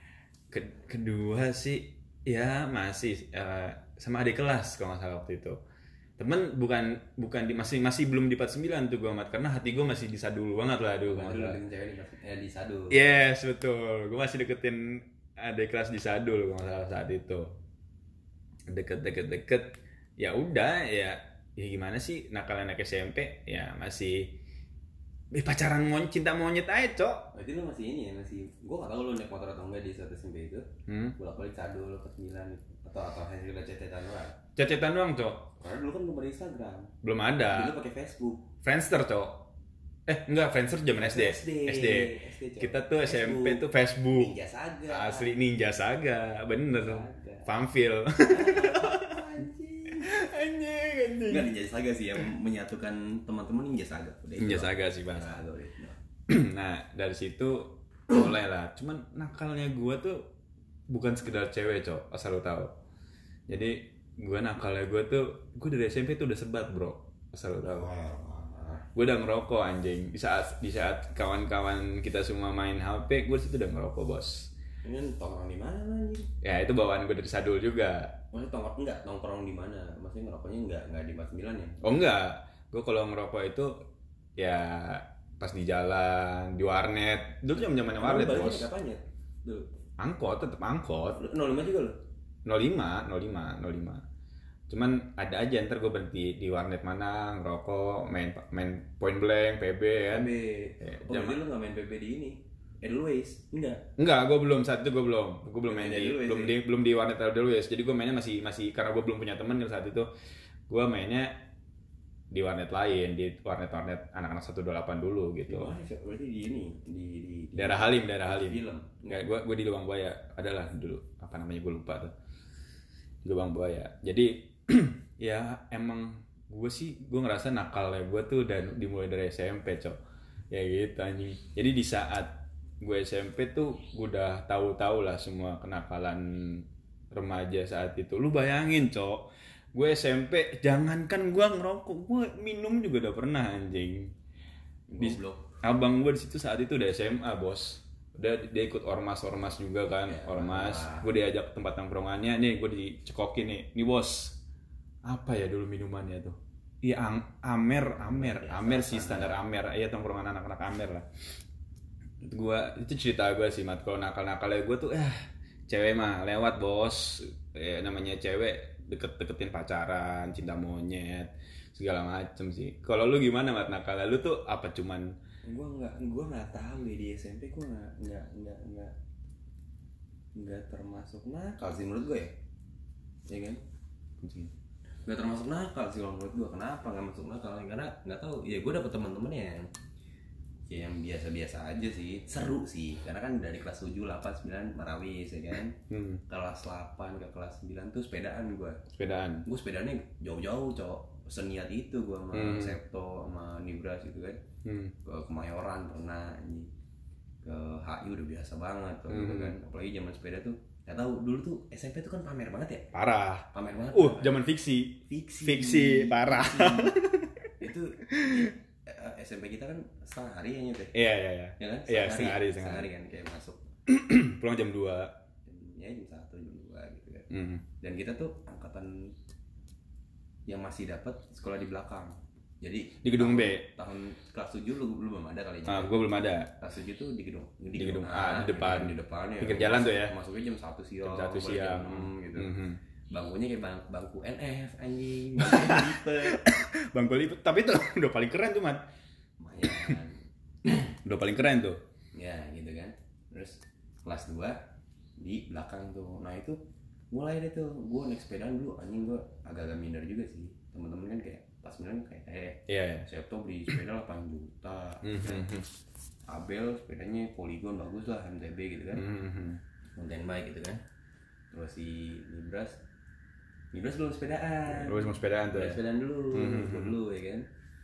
Speaker 2: Ke- kedua sih ya masih uh, sama adik kelas kalau nggak salah waktu itu. Temen bukan bukan di masih masih belum di empat puluh sembilan tuh gue, Mat, karena hati gue masih di sadul banget lah, aduh.
Speaker 1: Gue deketin cewek di, eh, di sadul.
Speaker 2: Yes, betul. Gue masih deketin adik kelas di sadul kalau nggak salah saat itu. Deket-deket-deket. Ya udah ya ya gimana sih, nakal anak S M P ya masih eh, pacaran monyet, cinta monyet aja, Cok.
Speaker 1: Berarti lu masih ini ya, masih gue gak tau lu naik motor atau enggak di satu S M P itu.
Speaker 2: Hmm?
Speaker 1: Bolak-balik sadul ke sembilan atau atau hanya udah cecetan doang.
Speaker 2: Cecetan doang, Cok.
Speaker 1: Karena dulu kan belum ada Instagram.
Speaker 2: Belum ada.
Speaker 1: Dulu pakai Facebook.
Speaker 2: Friendster, Cok. Eh, enggak, Friendster zaman S D.
Speaker 1: S D.
Speaker 2: S D. Kita tuh S M P tuh Facebook.
Speaker 1: Ninja Saga.
Speaker 2: Asli Ninja Saga, bener.
Speaker 1: Saga.
Speaker 2: Farmville.
Speaker 1: Anjing.
Speaker 2: Anjing, anjing.
Speaker 1: Enggak Ninja Saga sih yang menyatukan teman-teman, Ninja Saga. Udah
Speaker 2: Ninja
Speaker 1: itu.
Speaker 2: Saga sih, Bang.
Speaker 1: Saga udah itu.
Speaker 2: Nah, dari situ mulai lah. Cuman nakalnya gue tuh bukan sekedar cewek, Cok, asal lo tahu. Jadi gue nakalnya gue tuh, gue dari S M P tuh udah sebat, bro, asal lo tahu. Gue udah ngerokok, anjing. Di saat di saat kawan-kawan kita semua main H P, gue situ udah ngerokok, bos.
Speaker 1: Ini tongkrong di mana anjing?
Speaker 2: Ya itu bawaan gue dari Sadul juga.
Speaker 1: Maksudnya tongkrong enggak nongkrong di mana? Maksudnya ngerokoknya enggak enggak di empat puluh sembilan ya?
Speaker 2: Oh enggak, gue kalau ngerokok itu ya pas di jalan, di warnet. Dulu zaman zamannya warnet bos.
Speaker 1: Kapan ya? Dulu.
Speaker 2: Angkot, tetap angkot.
Speaker 1: nol lima juga lo?
Speaker 2: nol lima, nol lima, nol lima. Cuman ada aja ntar gue berhenti di warnet mana ngerokok, main main point blank, P B kan.
Speaker 1: P B.
Speaker 2: Ya,
Speaker 1: Oh, jadi lu nggak main P B di ini? Edelweiss? Enggak.
Speaker 2: Enggak, gue belum saat itu gue belum, gue belum main di,
Speaker 1: Edelweiss,
Speaker 2: belum
Speaker 1: ya?
Speaker 2: di belum di warnet Edelweiss. Jadi gue mainnya masih masih karena gue belum punya teman kan saat itu, gue mainnya di warnet lain, di warnet-warnet anak-anak seratus dua puluh delapan dulu gitu.
Speaker 1: Di mana sih? Berarti di ini di di, di
Speaker 2: Daerah Halim, daerah Halim.
Speaker 1: Film.
Speaker 2: Enggak, gue gue di Lubang Buaya, adalah dulu apa namanya gue lupa tuh. Di Lubang Buaya. Jadi ya emang gue sih gue ngerasa nakal ya gue tuh dan dimulai dari S M P cok ya gitu anjing. Jadi di saat gue S M P tuh gue udah tahu-tahu lah semua kenakalan remaja saat itu. Lu bayangin cok, gue S M P jangankan gue ngerokok, gue minum juga udah pernah anjing. Di, abang gue di situ saat itu udah S M A bos, udah dia ikut ormas-ormas juga kan, ya, ormas. Gue diajak ke tempat nongkrongannya, nih gue dicekokin nih, nih bos, apa ya dulu minumannya tuh? Iya Amer, Amer, Amer sih standar Amer, iya tongkrongan anak-anak Amer lah. Gua itu cerita gue sih mat, kalau nakal-nakalnya gue tuh eh cewek mah lewat bos, eh, namanya cewek deket-deketin pacaran, cinta monyet segala macem sih. Kalau lu gimana mat nakal lu tuh apa cuman?
Speaker 1: Gue nggak gue nggak tahu ya di S M P gue nggak nggak nggak nggak nggak termasuk nakal sih menurut gue ya, ya kan? Nggak termasuk nakal sih menurut gue. Kenapa nggak masuk nakal? Karena nggak tahu ya, gue dapet teman-teman yang ya yang biasa-biasa aja sih, seru sih karena kan dari kelas tujuh, delapan, sembilan marawis ya kan. hmm. Kelas delapan ke kelas sembilan tuh sepedaan gue
Speaker 2: sepedaan gue
Speaker 1: sepedaannya jauh-jauh cowok, seniat itu gue sama hmm. Septo sama Nibras gitu kan. hmm. Ke Kemayoran pernah, ke H I udah biasa banget tuh, hmm. gitu kan. Apalagi zaman sepeda tuh nggak tahu dulu tuh S M P tuh kan pamer banget ya,
Speaker 2: parah
Speaker 1: pamer banget.
Speaker 2: Uh zaman fiksi
Speaker 1: fiksi
Speaker 2: fiksi parah.
Speaker 1: Fiksi. Itu S M P kita kan setengah hari ya nyet.
Speaker 2: Iya iya iya.
Speaker 1: Ya kan?
Speaker 2: Iya setengah hari, setengah
Speaker 1: hari kan kayak masuk.
Speaker 2: Pulang jam dua.
Speaker 1: Ya jam satu, jam dua gitu kan.
Speaker 2: Mm.
Speaker 1: Dan kita tuh angkatan yang masih dapat sekolah di belakang. Jadi
Speaker 2: di gedung
Speaker 1: tahun,
Speaker 2: B.
Speaker 1: Tahun kelas tujuh lu belum ada kali ya.
Speaker 2: Ah, gua belum ada.
Speaker 1: Kelas tujuh tuh di gedung di,
Speaker 2: di gedung, gedung
Speaker 1: A,
Speaker 2: A, di depan.
Speaker 1: Di depan ya.
Speaker 2: Pinggir jalan tuh ya.
Speaker 1: Masuknya jam satu siang.
Speaker 2: Jam satu siang
Speaker 1: enam gitu.
Speaker 2: Mm-hmm.
Speaker 1: Bangkunya kayak bang, bangku N F anjing.
Speaker 2: Bangku lipat. Tapi itu udah paling keren tuh, Mat.
Speaker 1: Lumayan.
Speaker 2: Udah paling keren tuh.
Speaker 1: Ya gitu kan. Terus kelas dua di belakang tuh. Nah itu mulai deh tuh gue naik sepedaan dulu, anjing gue agak-agak minder juga sih. Temen-temen kan kayak pas sembilan kayak eh
Speaker 2: yeah, yeah.
Speaker 1: Septo beli sepeda delapan juta.
Speaker 2: Mm-hmm.
Speaker 1: Abel sepedanya Polygon bagus lah, M T B gitu kan.
Speaker 2: Mm-hmm.
Speaker 1: Mountain bike gitu kan. Terus si Nibras Nibras belum sepedaan.
Speaker 2: Lu mau sepedaan tuh.
Speaker 1: Ya, sepedaan dulu,
Speaker 2: mm-hmm.
Speaker 1: dulu ya kan.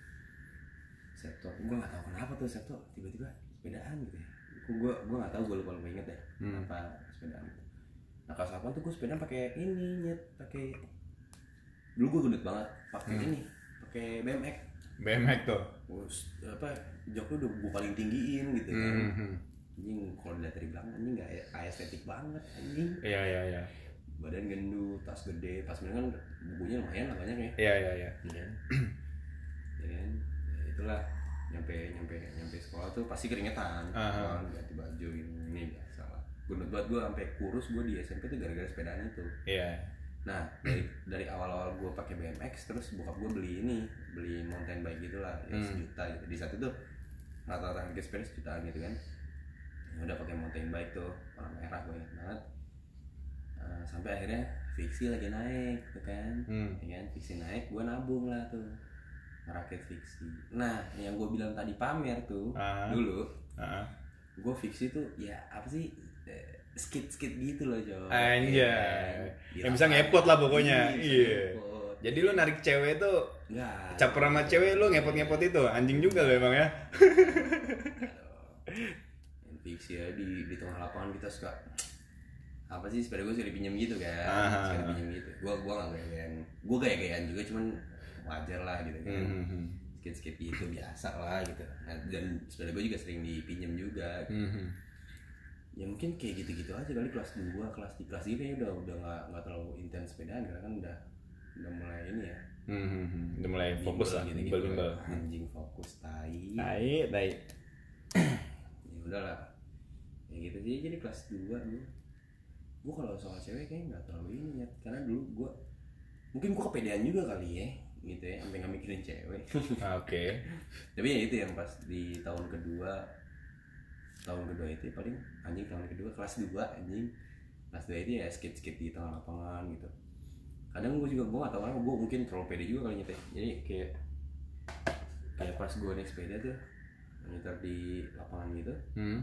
Speaker 1: Septo, gue nggak tahu kenapa tuh Septo tiba-tiba sepedaan gitu ya. Gue gue nggak tahu, gue lupa lupa inget deh
Speaker 2: hmm.
Speaker 1: apa sepedaan. Nah kelas delapan tuh gue sepedaan pakai ini nyet, pakai dulu gue gendut banget, pakai hmm. ini, pakai B M X.
Speaker 2: B M X tuh.
Speaker 1: Terus apa joknya udah gue paling tinggiin gitu kan.
Speaker 2: Hmm.
Speaker 1: Anjing kalau dilihat dari belakang anjing nggak estetik banget anjing.
Speaker 2: Iya iya iya.
Speaker 1: Badan gendut, tas gede, pas kan bukunya lumayan lah banyak ya.
Speaker 2: Iya iya iya.
Speaker 1: Ya kan, ya itulah nyampe nyampe nyampe sekolah tuh pasti keringetan, uh-huh. ganti baju ini biasa lah. Gendut banget gue sampai kurus gue di S M P tuh gara-gara sepedaan itu.
Speaker 2: Iya. Yeah.
Speaker 1: Nah dari dari awal-awal gue pakai B M X, terus bokap gue beli ini, beli mountain bike gitulah, ya hmm. sejuta gitu. Di saat itu rata-rata harga sepeda sejutaan gitu kan. Ya udah pakai mountain bike tuh warna merah, gue ingat banget. Uh, sampai akhirnya fiksi lagi naik tuh kan, hmm. ya kan fiksi naik, gue nabung lah tuh ngerakit fiksi. Nah yang gue bilang tadi pamer tuh uh-huh. dulu, uh-huh. gue fiksi tuh ya apa sih eh, skit-skit gitu loh Jo.
Speaker 2: Anjay, ya, yang bisa ngepot lah pokoknya. Iya. Yeah. Jadi lu narik cewek tuh, nggak. Caper sama cewek lu ngepot-ngepot itu, anjing juga lo emang ya.
Speaker 1: Fiksi ya di di tengah lapangan kita suka apa sih sepeda gue suka dipinjam gitu kan,
Speaker 2: uh-huh.
Speaker 1: suka dipinjam gitu. Gue gue nggak gaya-gayaan, gue gaya-gayaan juga cuman wajar lah gitu kan. Mm-hmm. Skit-skit gitu biasa lah gitu. Nah, dan sepeda gue juga sering dipinjam juga gitu. Mm-hmm. ya mungkin kayak gitu-gitu aja kali kelas dua, kelas tiga, kelas tiga udah udah nggak nggak terlalu intens sepedaan karena kan udah udah mulai ini ya.
Speaker 2: Hmm, hmm, hmm. Udah mulai fokus lah,
Speaker 1: gitu-gitu.
Speaker 2: bimbel-bimbel.
Speaker 1: Anjing fokus tai.
Speaker 2: Tai, tai.
Speaker 1: Ya udahlah. Ya gitu sih jadi kelas dua gue. Gue kalau soal cewek kayaknya nggak terlalu ini ya karena dulu gue mungkin gue kepedean juga kali ya gitu ya sampai nggak mikirin cewek.
Speaker 2: Oke. Okay.
Speaker 1: Tapi ya itu yang pas di tahun kedua tahun kedua itu ya paling anjing tahun kedua kelas dua anjing kelas dua itu ya skate skate di tengah lapangan gitu. Kadang gue juga gue nggak tahu kenapa gue mungkin terlalu pede juga kali nyetir. Jadi kayak kayak pas gue naik sepeda tuh nyetir di lapangan gitu.
Speaker 2: Hmm.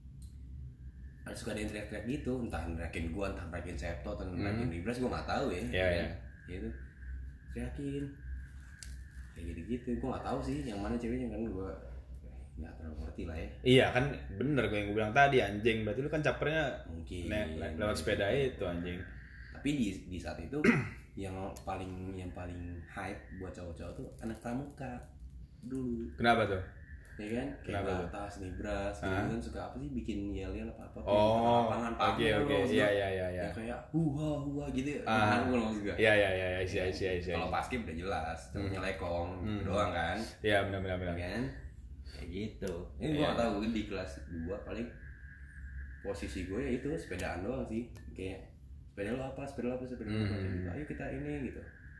Speaker 1: Ada suka ada yang teriak-teriak gitu, entah neriakin gue, entah neriakin Septo, entah neriakin
Speaker 2: Hmm.
Speaker 1: Libras, gue nggak tahu ya.
Speaker 2: Iya ya.
Speaker 1: Gitu, teriakin, kayak gitu-gitu. Gue nggak tahu sih yang mana ceweknya kan gue nggak terlalu ngerti lah ya.
Speaker 2: Iya kan bener gue yang gue bilang tadi anjing. Berarti lu kan capernya
Speaker 1: Mungkin
Speaker 2: le- le- lewat sepeda itu anjing.
Speaker 1: Tapi di di saat itu yang paling yang paling hype buat cowok-cowok tuh anak pramuka dulu.
Speaker 2: Kenapa tuh?
Speaker 1: Ya kan, kayak
Speaker 2: Kenapa tuh?
Speaker 1: Batas, Libras, gitu kan suka apa sih bikin yel-yel apa-apa tuh
Speaker 2: Oh,
Speaker 1: lapangan
Speaker 2: oke oke, iya iya iya iya.
Speaker 1: ya kayak huha huha gitu.
Speaker 2: Ah.
Speaker 1: Aku ngomong juga.
Speaker 2: Iya iya iya, isi isi isi.
Speaker 1: Kalau basket udah jelas, terusnya lekong
Speaker 2: Hmm.
Speaker 1: doang kan.
Speaker 2: Iya benar benar benar.
Speaker 1: Kan? Kayak gitu. Ini
Speaker 2: Iya.
Speaker 1: gua enggak tahu di kelas dua paling posisi gue ya itu sepedaan doang sih. Kayak sepeda lo apa? Sepeda lo apa? Sepeda lo apa?
Speaker 2: Hmm.
Speaker 1: Gitu. Ayo kita ini gitu.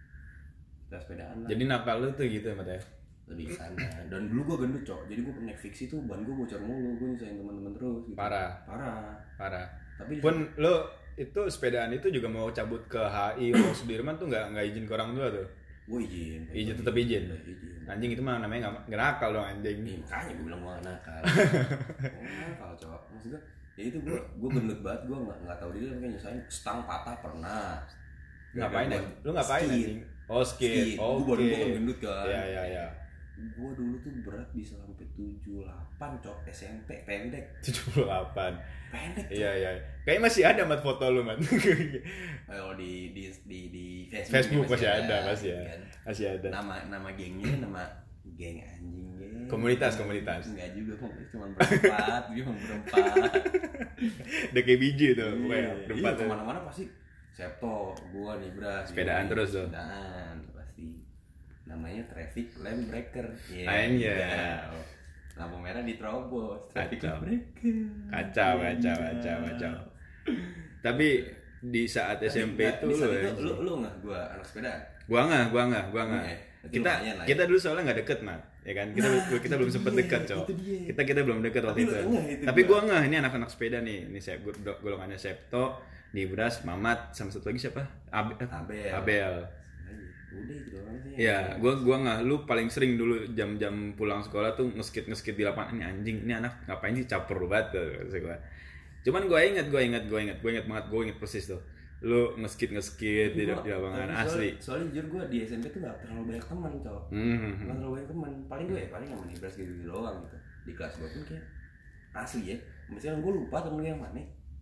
Speaker 1: Kita sepedaan lah.
Speaker 2: Jadi nakal lu tuh gitu ya Mat ya?
Speaker 1: Lebih ke sana. Dan dulu gue gendut cok. Jadi gue naik fiksi tuh ban gue bocor mulu. Gue nyusahin teman-teman terus. Gitu.
Speaker 2: Parah.
Speaker 1: Parah.
Speaker 2: Parah.
Speaker 1: Tapi
Speaker 2: Pun lu itu sepedaan itu juga mau cabut ke H I mau Sudirman tuh nggak nggak izin ke orang tua tuh?
Speaker 1: gue izin.
Speaker 2: Izin tetap izin.
Speaker 1: Udah izin.
Speaker 2: Anjing itu mah namanya nggak nggak nakal dong anjing.
Speaker 1: Ih, makanya gue bilang gue gak nakal. Gue nakal cok. Maksud gue ya itu gue gue gendut banget. Gue nggak nggak tahu diri kayak nyusahin stang patah pernah.
Speaker 2: Ngapain
Speaker 1: Gara-gara
Speaker 2: anjing?
Speaker 1: gua
Speaker 2: Lu ngapain
Speaker 1: skate.
Speaker 2: anjing? Oh skate.
Speaker 1: Skate.
Speaker 2: Oke.
Speaker 1: Gue baru gue gendut kan.
Speaker 2: Iya iya iya.
Speaker 1: Gue dulu tuh berat bisa sampai tujuh puluh delapan cok. S M P pendek.
Speaker 2: tujuh puluh delapan.
Speaker 1: Pendek cok.
Speaker 2: Iya iya. Kayaknya masih ada Mat foto lu Mat.
Speaker 1: Kalau di di di di Facebook,
Speaker 2: Facebook masih
Speaker 1: ya,
Speaker 2: ada, masih ya.
Speaker 1: kan.
Speaker 2: Masih ada.
Speaker 1: Nama nama gengnya nama geng anjing geng.
Speaker 2: Komunitas, komunitas.
Speaker 1: Enggak juga komunitas cuma berempat, dia cuma berempat.
Speaker 2: Udah kayak biji tuh pokoknya.
Speaker 1: Iya,
Speaker 2: Berempat
Speaker 1: iya,
Speaker 2: tuh.
Speaker 1: kemana-mana pasti Septo, gua Libras.
Speaker 2: Sepedaan
Speaker 1: Yoi,
Speaker 2: terus tuh.
Speaker 1: Sepedaan pasti. Namanya traffic lamp breaker. Iya.
Speaker 2: Anjay.
Speaker 1: Kacau. Lampu merah diterobos. Traffic
Speaker 2: Kacau.
Speaker 1: lamp breaker.
Speaker 2: Kacau, kacau,
Speaker 1: Iya.
Speaker 2: kacau, kacau. Tapi di saat S M P
Speaker 1: Tapi,
Speaker 2: itu
Speaker 1: di saat
Speaker 2: lu,
Speaker 1: itu lu lu nggak gua anak sepedaan.
Speaker 2: gua nggak, gua nggak, gua nggak.
Speaker 1: Iya, berarti
Speaker 2: Kita
Speaker 1: lumayan lah ya.
Speaker 2: kita dulu soalnya nggak deket Mat, ya kan? Kita
Speaker 1: Nah,
Speaker 2: kita
Speaker 1: itu
Speaker 2: belum sempet
Speaker 1: dia,
Speaker 2: dekat cowok.
Speaker 1: itu dia.
Speaker 2: Kita kita belum dekat waktu
Speaker 1: Tapi
Speaker 2: itu.
Speaker 1: lu ngeh itu
Speaker 2: Tapi
Speaker 1: gua.
Speaker 2: gua nggak, ini anak-anak sepeda nih. Ini saya golongannya Septo, Nibras, Mamat, sama satu lagi siapa? Ab- eh,
Speaker 1: Abel.
Speaker 2: Abel.
Speaker 1: Udah itu doang sih.
Speaker 2: Iya, gua gua nggak. Lu paling sering dulu jam-jam pulang sekolah tuh ngeskit ngeskit di lapangan. Ini anjing, ini anak ngapain sih caper banget tuh, kata gua. Cuman gua inget, gua inget, gua inget, gua inget banget, gua inget persis tuh. Lu ngeskit ngeskit di,
Speaker 1: Gua-
Speaker 2: di lapangan
Speaker 1: tapi
Speaker 2: asli.
Speaker 1: Soalnya, soalnya jujur gue di S M P tuh gak terlalu banyak teman cowok.
Speaker 2: Hmm.
Speaker 1: Gak terlalu banyak teman. Paling gue ya paling sama Nibras gitu, gitu doang gitu. Di kelas gue pun kayak asli ya. Misalnya gue lupa temen gue yang mana.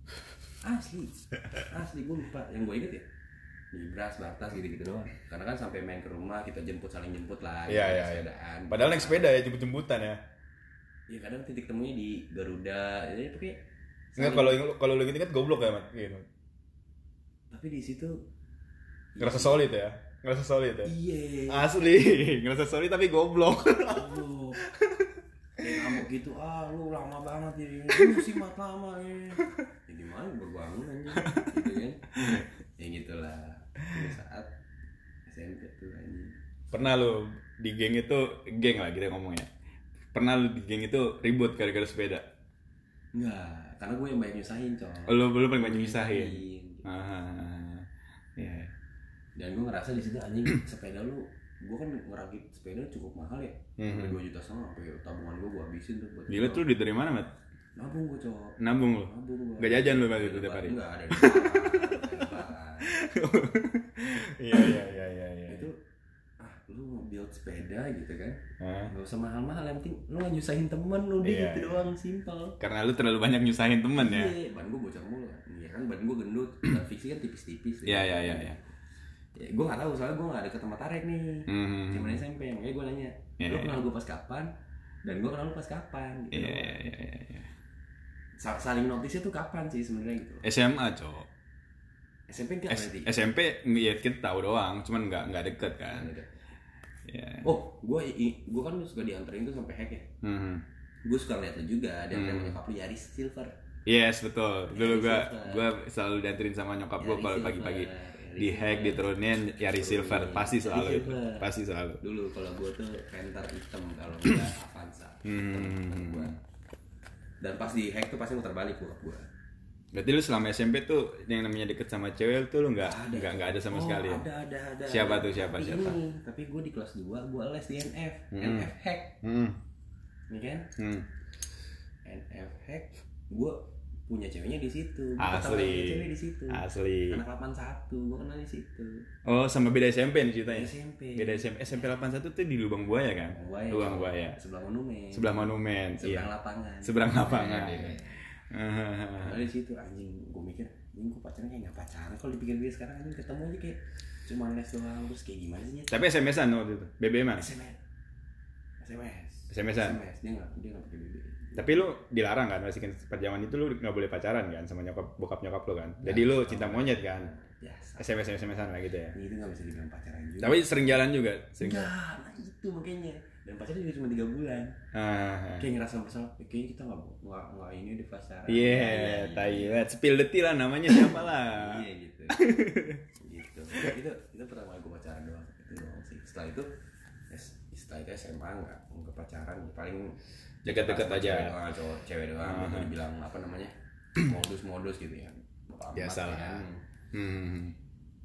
Speaker 1: Asli. Asli gue lupa. Yang gue inget ya Nibras, Batas gitu-gitu doang. Karena kan sampai main ke rumah kita jemput saling jemput lah.
Speaker 2: Iya,
Speaker 1: gitu,
Speaker 2: iya, iya.
Speaker 1: sepedaan.
Speaker 2: Padahal naik sepeda ya jemput-jemputan ya.
Speaker 1: Ya kadang titik temunya di Garuda. Jadi kayak
Speaker 2: Enggak, kalau kalau lu inget goblok ya, Mat. Gitu.
Speaker 1: tapi di situ
Speaker 2: Ngerasa solid ya. Ngerasa solid ya.
Speaker 1: iya.
Speaker 2: Asli, ngerasa solid tapi goblok.
Speaker 1: Goblok. Kayak ngamuk gitu, ah lu lama banget ini, lu sih mat lama ya. Ya gimana baru bangun aja, gitu kan? Ya gitulah. Di saat S M P tuh anjing.
Speaker 2: Pernah lu di geng itu, geng lah kita ngomongnya. Pernah lu di geng itu ribut gara-gara sepeda?
Speaker 1: Enggak, karena gue yang banyak nyusahin coy.
Speaker 2: Lu belum paling banyak nyusahin.
Speaker 1: Nyusahin.
Speaker 2: Ah, iya.
Speaker 1: Dan gue ngerasa di situ anjing sepeda lu, gue kan ngerakit sepeda cukup mahal ya, sampai dua juta setengah, sampai tabungan gue gue habisin tuh buat
Speaker 2: Gila tuh duit dari mana, Mat?
Speaker 1: nabung gue coy.
Speaker 2: Nabung lu?
Speaker 1: Nabung gue.
Speaker 2: Gak jajan lu berarti tiap hari?
Speaker 1: Enggak ada. Di lebaran.
Speaker 2: Iya, iya, iya, iya, iya.
Speaker 1: Itu ah lu mau build sepeda gitu kan,
Speaker 2: Hah?
Speaker 1: nggak usah mahal-mahal, yang penting lu nggak nyusahin temen lu deh,
Speaker 2: Iya,
Speaker 1: gitu
Speaker 2: iya.
Speaker 1: doang, simpel.
Speaker 2: Karena lu terlalu banyak nyusahin temen ya?
Speaker 1: Iya, ban gue bocor mulu kan, iya kan ban gue gendut, dan fiksi kan tipis-tipis.
Speaker 2: Iya, iya, iya, iya.
Speaker 1: Ya, gue nggak tahu soalnya gue nggak deket sama Tarek nih,
Speaker 2: Hmm.
Speaker 1: zaman S M P, makanya gue nanya,
Speaker 2: Iya,
Speaker 1: lu
Speaker 2: iya.
Speaker 1: kenal gue pas kapan, dan gue kenal lu pas kapan, gitu.
Speaker 2: Iya,
Speaker 1: doang.
Speaker 2: iya, iya, iya.
Speaker 1: saling notisnya tuh kapan sih sebenarnya gitu?
Speaker 2: S M A cowok.
Speaker 1: S M P enggak berarti?
Speaker 2: S M P ya kita tahu doang, cuman nggak nggak deket kan.
Speaker 1: Ya. Oh, gue gue kan suka dianterin tuh sampai hack ya. Hmm. Gue suka lihat lu juga, dianterin hmm. nyokap lu Yaris Silver.
Speaker 2: Yes betul. Dulu gue gue selalu dianterin sama nyokap gue kalau pagi-pagi di hack diturunin Yaris Silver, pasti selalu itu. Pasti selalu.
Speaker 1: Dulu kalau gue tuh Panther hitam kalau nggak Avanza. Hmm. Gua. Dan pas di hack tuh pasti muter balik bokap gue.
Speaker 2: Berarti lu selama S M P tuh yang namanya deket sama cewek tuh lu nggak nggak nggak ada sama
Speaker 1: oh,
Speaker 2: sekali ya?
Speaker 1: Ada ada ada.
Speaker 2: Siapa tuh siapa
Speaker 1: tapi
Speaker 2: siapa?
Speaker 1: Ini, tapi gue di kelas dua gue les di N F, hmm. N F hack.
Speaker 2: Hmm.
Speaker 1: Ini kan? Hmm. N F hack gue punya ceweknya di situ.
Speaker 2: Asli.
Speaker 1: Cewek di situ.
Speaker 2: Asli.
Speaker 1: Anak delapan satu gue kenal di situ.
Speaker 2: Oh, sama beda S M P nih ceritanya.
Speaker 1: S M P.
Speaker 2: Beda S M P. S M P delapan satu tuh di Lubang Buaya kan?
Speaker 1: Buaya,
Speaker 2: Lubang Buaya.
Speaker 1: Sebelah Monumen.
Speaker 2: Sebelah Monumen.
Speaker 1: Seberang
Speaker 2: iya.
Speaker 1: lapangan.
Speaker 2: Seberang lapangan.
Speaker 1: Ya, nah, di situ anjing gue mikir, anjing gue pacaran kayak nggak pacaran. Kalau dipikir-pikir sekarang anjing ketemu aja kayak cuma les doang terus kayak gimana sih?
Speaker 2: Tapi S M S-an waktu itu. B B M-an.
Speaker 1: S M S. S M S.
Speaker 2: S M S-an.
Speaker 1: S M S dia nggak dia nggak pakai B B.
Speaker 2: Tapi lu dilarang kan, masih kan pada zaman itu lu nggak boleh pacaran kan sama nyokap bokap nyokap lu kan. Jadi nah, lu cinta monyet kan. Biasa. S M S S M S-an lah gitu ya.
Speaker 1: Itu nggak bisa dibilang pacaran juga.
Speaker 2: Tapi sering jalan juga. Sering.
Speaker 1: Enggak, nah itu makanya. Dan pacarnya juga cuma tiga bulan. Ah, kayak ngerasa bersalah. Kayaknya kita nggak nggak nggak ini di pacaran.
Speaker 2: Iya, yeah, Thailand. Spill the tea lah namanya siapa lah.
Speaker 1: Iya gitu. Gitu. Itu itu pertama gue pacaran doang. Itu doang sih. Setelah itu setelah itu S M A nggak nggak pacaran. Paling
Speaker 2: dekat-dekat aja.
Speaker 1: Cewek doang, cowok cewek doang. Uh-huh. Dibilang apa namanya modus-modus gitu ya.
Speaker 2: Biasa lah. Hmm.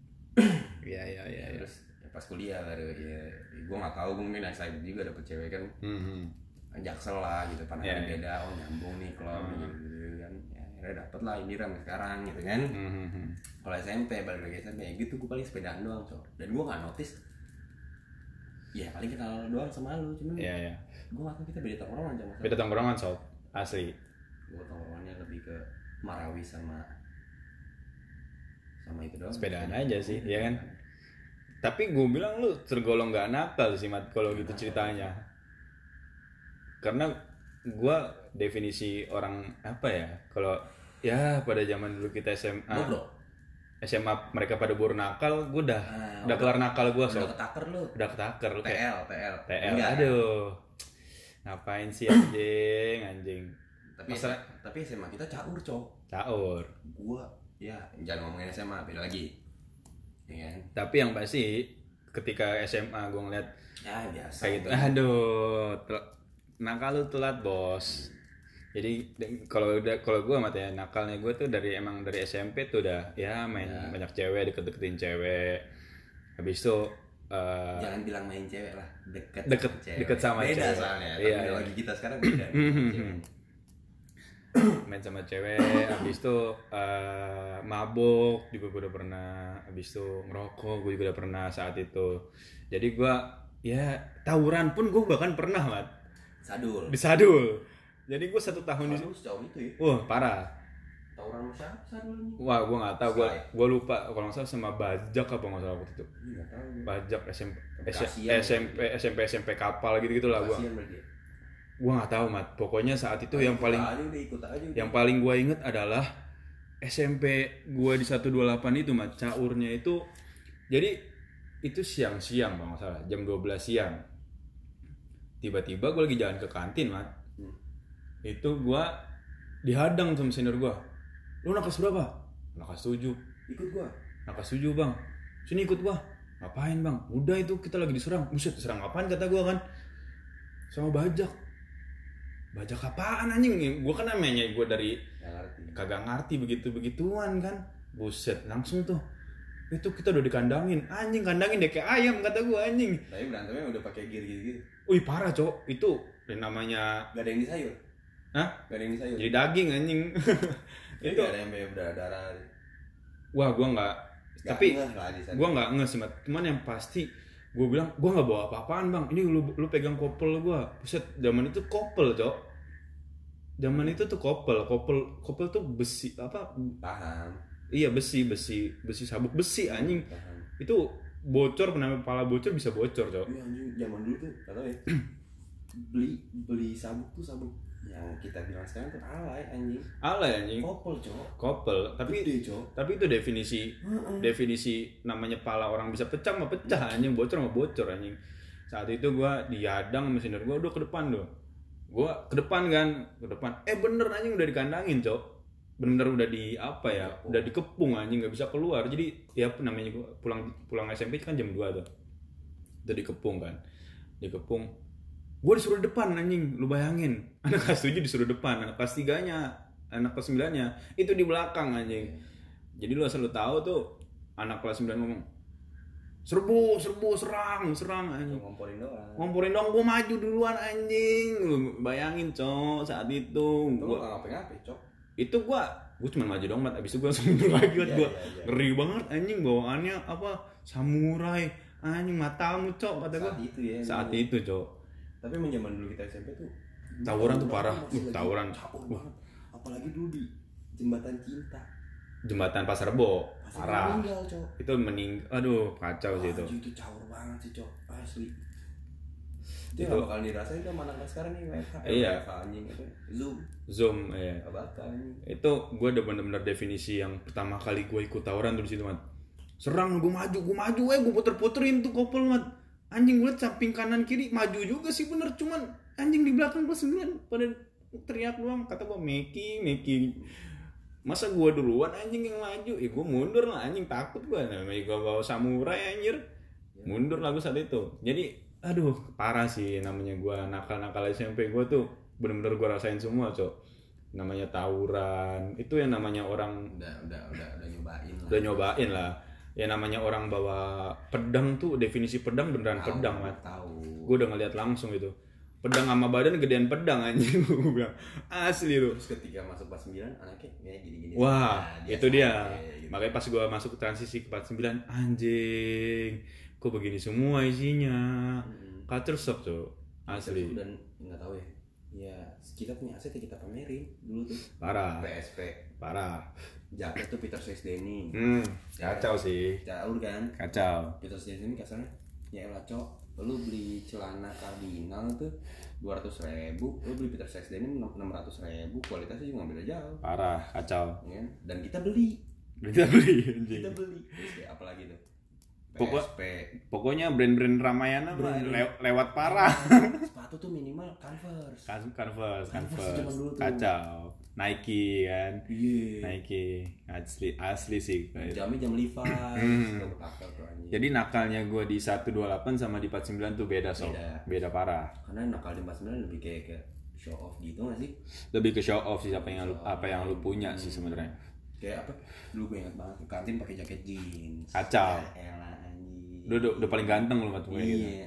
Speaker 2: Iya iya iya.
Speaker 1: Terus pas kuliah baru ya gue nggak tahu gue mungkin excited juga dapet cewek kan mm-hmm. Jaksel lah gitu pandangan yeah, beda yeah. Oh nyambung nih klub mm-hmm. gitu kan ya akhirnya dapet lah ini ramai sekarang gitu kan mm-hmm. Kalau S M P balik lagi S M P ya gitu gue paling sepedaan doang so dan gue nggak notice ya paling kenal doang sama lu cuman
Speaker 2: yeah, yeah.
Speaker 1: Gue nggak tahu kita beda tongkrongan sama
Speaker 2: beda tongkrongan so asli
Speaker 1: gue tongkrongannya lebih ke Marawi sama sama itu doang
Speaker 2: sepedaan aja sih ya kan. Tapi gue bilang lu tergolong gak nakal sih Mat kalau gitu ceritanya. Karena gue definisi orang apa ya? Kalau ya pada zaman dulu kita S M A,
Speaker 1: Bro.
Speaker 2: S M A mereka pada baru nakal, gue udah nah, udah kelar nakal gue so.
Speaker 1: Udah ketaker lu.
Speaker 2: Udah ketaker lu.
Speaker 1: T L, T L.
Speaker 2: T L. Aduh. Ngapain sih anjing, anjing.
Speaker 1: Tapi Masalah, tapi S M A kita caur, Cok.
Speaker 2: Caur.
Speaker 1: Gua ya jangan ngomongin S M A, beda lagi. Ya.
Speaker 2: Tapi yang pasti ketika S M A gue ngeliat
Speaker 1: ya biasa
Speaker 2: kayak gitu, aduh tel- nakal lu telat bos. Jadi kalau udah kalau gue mati ya nakalnya gue tuh dari emang dari S M P tuh udah ya main ya. Banyak cewek, deket-deketin cewek. Habis itu uh,
Speaker 1: jangan bilang main cewek lah, deket
Speaker 2: deket sama cewek. Deket sama
Speaker 1: beda
Speaker 2: cewek.
Speaker 1: Soalnya
Speaker 2: iya,
Speaker 1: iya. Lagi kita sekarang beda.
Speaker 2: Main sama cewek, habis itu uh, mabok juga gue udah pernah, habis itu ngerokok gue juga udah pernah saat itu. Jadi gue ya tawuran pun gue bahkan pernah Mat.
Speaker 1: Sadul.
Speaker 2: Di Sadul. Jadi gue satu tahun di
Speaker 1: sejauh itu ya.
Speaker 2: Wah parah.
Speaker 1: Tawuran sama siapa Sadul?
Speaker 2: Wah gue nggak tahu, gue gue lupa kalau nggak salah sama Bajak apa nggak salah waktu itu.
Speaker 1: Nggak tahu.
Speaker 2: Bajak S M P S M P S M P S M P kapal gitu gitulah gue. Gue nggak tahu Mat, pokoknya saat itu nah, yang paling
Speaker 1: aja, ikut aja,
Speaker 2: yang paling gue inget adalah S M P gue di seratus dua puluh delapan itu Mat, caurnya itu jadi itu siang-siang bang, nggak salah jam dua belas siang. Tiba-tiba gue lagi jalan ke kantin Mat, hmm. itu gue dihadang sama senior gue. Lu nakas berapa? Nakas tujuh.
Speaker 1: Ikut gue.
Speaker 2: Nakas tujuh bang. Sini ikut gue. Ngapain bang? Udah itu kita lagi diserang. Buset, diserang apaan kata gue kan? Sama Bajak. Bajak apaan anjing? Gue kan namanya gue dari ngerti. Kagak ngerti begitu-begituan kan. Buset, langsung tuh. Itu kita udah dikandangin. Anjing kandangin deh kayak ayam kata gue anjing.
Speaker 1: Tapi berantemnya udah pakai gear gitu-gitu.
Speaker 2: Wih parah cok. Itu namanya
Speaker 1: gak ada yang di sayur.
Speaker 2: Hah?
Speaker 1: Gak ada yang di sayur.
Speaker 2: Jadi daging anjing.
Speaker 1: Itu gak ada yang berdarah.
Speaker 2: Wah gue gak. Gak tapi gue gak nge sih Mat. Cuman yang pasti gue bilang gue nggak bawa apa-apaan bang, ini lu lu pegang kopel gue. Buset, zaman itu kopel cok, zaman itu tuh kopel kopel kopel tuh besi apa?
Speaker 1: Paham.
Speaker 2: Iya besi besi besi sabuk besi anjing. Paham. Itu bocor, kenapa kepala bocor bisa bocor cok?
Speaker 1: Iya anjing zaman dulu tuh, nggak tahu ya. beli beli sabuk tuh sabuk yang kita bilang sekarang tuh alay anjing.
Speaker 2: Alay anjing.
Speaker 1: Kopel, Cok.
Speaker 2: Kopel, tapi
Speaker 1: Gede, Cok.
Speaker 2: tapi itu definisi uh-uh. definisi namanya pala orang bisa pecah mah pecah anjing, bocor mah bocor anjing. Saat itu gua dihadang sama senior gua, udah ke depan tuh. Gua ke depan kan, ke depan. Eh bener anjing udah dikandangin, Cok. Bener udah di apa ya? Oh. Udah dikepung anjing, enggak bisa keluar. Jadi ya namanya gua pulang pulang S M P kan jam dua tuh. Udah dikepung kan. Dikepung. Gua disuruh depan anjing, lu bayangin. Anak kelas tujuh disuruh depan, anak kelas tiga-nya, anak kelas sembilan-nya itu di belakang anjing. Jadi lu asal lu tahu tuh anak kelas sembilan ngomong, serbu, serbu, serang, serang anjing.
Speaker 1: Ngomporin doang.
Speaker 2: Ngomporin doang, gua maju duluan anjing. Lu bayangin, Cok, saat itu.
Speaker 1: Itu
Speaker 2: gua
Speaker 1: enggak ngapain-ngapain, Cok.
Speaker 2: Itu gua gua cuma maju doang, mat. Abis itu gua langsung mundur lagi, mat.
Speaker 1: Iya,
Speaker 2: Gua
Speaker 1: iya, iya.
Speaker 2: ngeri banget anjing, bawaannya apa? Samurai. Anjing matamu, Cok, kata gua.
Speaker 1: Saat itu ya.
Speaker 2: Saat
Speaker 1: ini.
Speaker 2: itu, Cok.
Speaker 1: Tapi emang zaman dulu kita S M P tuh
Speaker 2: tawuran tuh parah. Uh, tawuran.
Speaker 1: Uh. Apalagi dulu di Jembatan Cinta.
Speaker 2: Jembatan Pasar Rebo. Parah.
Speaker 1: Meninggal, Cok.
Speaker 2: Itu meninggal. Aduh, kacau sih itu.
Speaker 1: Itu caur banget sih, Cok. Asli. Itu enggak bakal dirasain sama anak sekarang nih, W F H.
Speaker 2: Iya.
Speaker 1: W F H anjing itu. Zoom.
Speaker 2: Zoom, iya.
Speaker 1: Enggak bakal anjing.
Speaker 2: Itu gue udah bener-bener definisi yang pertama kali gue ikut tawuran tuh di situ, mat. Serang, gue maju, gue maju, eh gue puter-puterin tuh kopel, mat. Anjing gue liat samping kanan kiri maju juga sih bener, cuman anjing di belakang kelas sembilan pada teriak doang. Kata gue Meki, Meki. Masa gue duluan anjing yang maju? Eh gue mundur lah anjing, takut gue. Namanya gue bawa samurai anjir. Mundur lah gue saat itu. Jadi aduh parah sih namanya gue nakal-nakal S M P gue tuh. Bener-bener gue rasain semua, Cok. Namanya tawuran. Itu yang namanya orang
Speaker 1: udah udah udah udah nyobain lah.
Speaker 2: Udah nyobain lah. Ya namanya orang bawa pedang tuh, definisi pedang beneran tau, pedang, Mat.
Speaker 1: Tahu.
Speaker 2: Gue udah ngeliat langsung itu. Pedang sama badan gedean pedang anjing, gue bilang. Asli tuh.
Speaker 1: Terus ketika masuk kelas sembilan anaknya kayak gini-gini.
Speaker 2: Wah, nah, itu dia.
Speaker 1: Gitu.
Speaker 2: Makanya pas gue masuk ke transisi ke kelas sembilan, anjing, kok begini semua isinya. Hmm. Culture shock tuh. Asli.
Speaker 1: Dan enggak tahu ya. Ya, kita punya aset yang kita pamerin dulu tuh.
Speaker 2: Parah.
Speaker 1: P S P.
Speaker 2: Parah.
Speaker 1: Jaket tuh Peter Sesdeni.
Speaker 2: Hmm, kacau ya, sih.
Speaker 1: Jauh kan?
Speaker 2: Kacau.
Speaker 1: Peter Sesdeni kasarnya, ya elah, Cok. Lu beli celana kardinal tuh dua ratus ribu, lu beli Peter Sesdeni enam ratus ribu, kualitasnya juga nggak beda jauh.
Speaker 2: Parah, kacau.
Speaker 1: Ya, dan kita beli.
Speaker 2: Kita beli, anjing.
Speaker 1: Kita beli. Terus kayak apa lagi tuh?
Speaker 2: Pokok,
Speaker 1: P S P.
Speaker 2: Pokoknya brand-brand Ramayana brand le lewat parah.
Speaker 1: Sepatu tuh minimal Converse.
Speaker 2: Converse, Converse,
Speaker 1: Converse
Speaker 2: Converse. Kacau. Nike kan.
Speaker 1: Iya.
Speaker 2: Nike asli asli sih.
Speaker 1: Jamnya jam Levi's.
Speaker 2: Jadi nakalnya gue di seratus dua puluh delapan sama di empat puluh sembilan tuh beda, Sob. Beda. Beda parah.
Speaker 1: Karena nakal di empat puluh sembilan lebih kayak ke show off gitu nggak sih?
Speaker 2: Lebih ke show off sih apa yang lu, apa yang lu punya hmm. sih sebenarnya.
Speaker 1: Kayak apa? Dulu gue ingat banget ke kantin pakai jaket jeans.
Speaker 2: Kacau.
Speaker 1: Ya, elah, anjing.
Speaker 2: Udah, udah, udah paling ganteng lu waktu
Speaker 1: iya.
Speaker 2: gitu.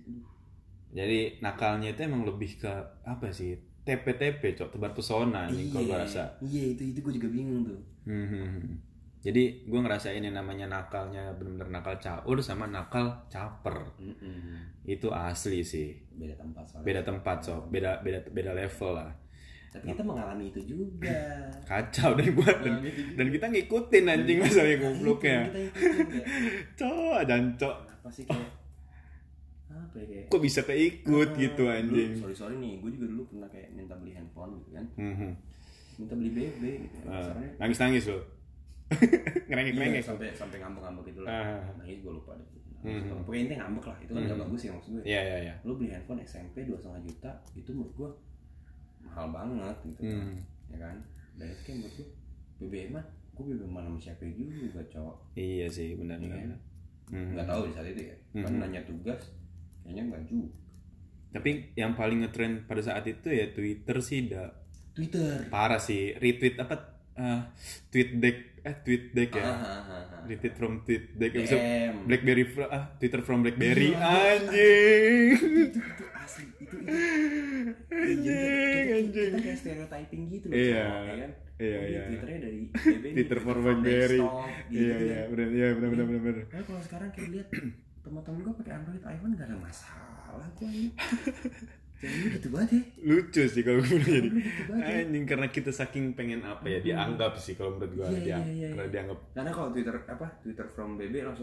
Speaker 2: Jadi nakalnya itu emang lebih ke apa sih? T P T P, Cok, tebar pesona nih kalau gue rasa.
Speaker 1: Iya, itu itu gue juga bingung tuh.
Speaker 2: Hmm. Jadi gue ngerasain yang namanya nakalnya benar-benar nakal caur sama nakal caper. Mm-mm. Itu asli sih.
Speaker 1: Beda tempat soalnya.
Speaker 2: Beda tempat, Cok. Beda beda beda level lah.
Speaker 1: Tapi kita mengalami itu juga.
Speaker 2: Kacau dan gua dan, dan kita ngikutin anjing masalahnya gobloknya.
Speaker 1: Kita ikutin.
Speaker 2: Cok, dan cok.
Speaker 1: Apa sih kayak apa ya kayak?
Speaker 2: Kok bisa keikut ah, gitu anjing?
Speaker 1: Sorry sorry nih, gue juga dulu pernah kayak minta beli handphone gitu kan.
Speaker 2: Mm-hmm.
Speaker 1: Minta beli B B gitu.
Speaker 2: Uh, nangis nangis loh. Ngerengek ngerengek.
Speaker 1: Iya, sampai sampai ngambek ngambek gitu lah. Uh. Nangis gue lupa deh.
Speaker 2: Mm-hmm.
Speaker 1: Pokoknya intinya ngambek lah. Itu kan mm-hmm. gak bagus ya maksud gue.
Speaker 2: Iya iya iya.
Speaker 1: Lu beli handphone S M P dua koma lima juta itu menurut gue mahal banget gitu. Mm. Ya kan? Dan itu kayak menurut gue B B M mah gue B B M mana sama siapa juga cowok.
Speaker 2: Iya sih benar-benar.
Speaker 1: Ya, mm-hmm. Gak tahu di saat itu ya. Mm-hmm. Kan nanya tugas kayaknya enggak juga.
Speaker 2: Tapi yang paling ngetrend pada saat itu ya Twitter sih dah.
Speaker 1: Twitter.
Speaker 2: Parah sih, retweet apa uh, tweet deck eh tweet deck ya.
Speaker 1: Ah, ah, ah, ah.
Speaker 2: Retweet from tweet deck
Speaker 1: D M.
Speaker 2: BlackBerry ah Twitter from BlackBerry anjing.
Speaker 1: Itu, itu asli itu itu.
Speaker 2: Anjing, anjing.
Speaker 1: Kita kayak stereotyping gitu loh.
Speaker 2: Iya.
Speaker 1: Ya kan?
Speaker 2: Iya,
Speaker 1: oh,
Speaker 2: iya.
Speaker 1: Twitternya dari B B
Speaker 2: Twitter for BlackBerry.
Speaker 1: Gitu,
Speaker 2: iya, iya, benar, iya, benar, benar, benar.
Speaker 1: Nah, kalau sekarang kayak lihat teman-teman gue pakai Android iPhone gak ada masalah gue ini. Jadi gitu banget ya.
Speaker 2: Lucu sih kalau gue jadi. Anjing karena kita saking pengen apa ya dianggap sih kalau menurut gue
Speaker 1: iya,
Speaker 2: dia
Speaker 1: iya, iya,
Speaker 2: karena
Speaker 1: iya.
Speaker 2: dianggap.
Speaker 1: Karena kalau Twitter apa Twitter from B B langsung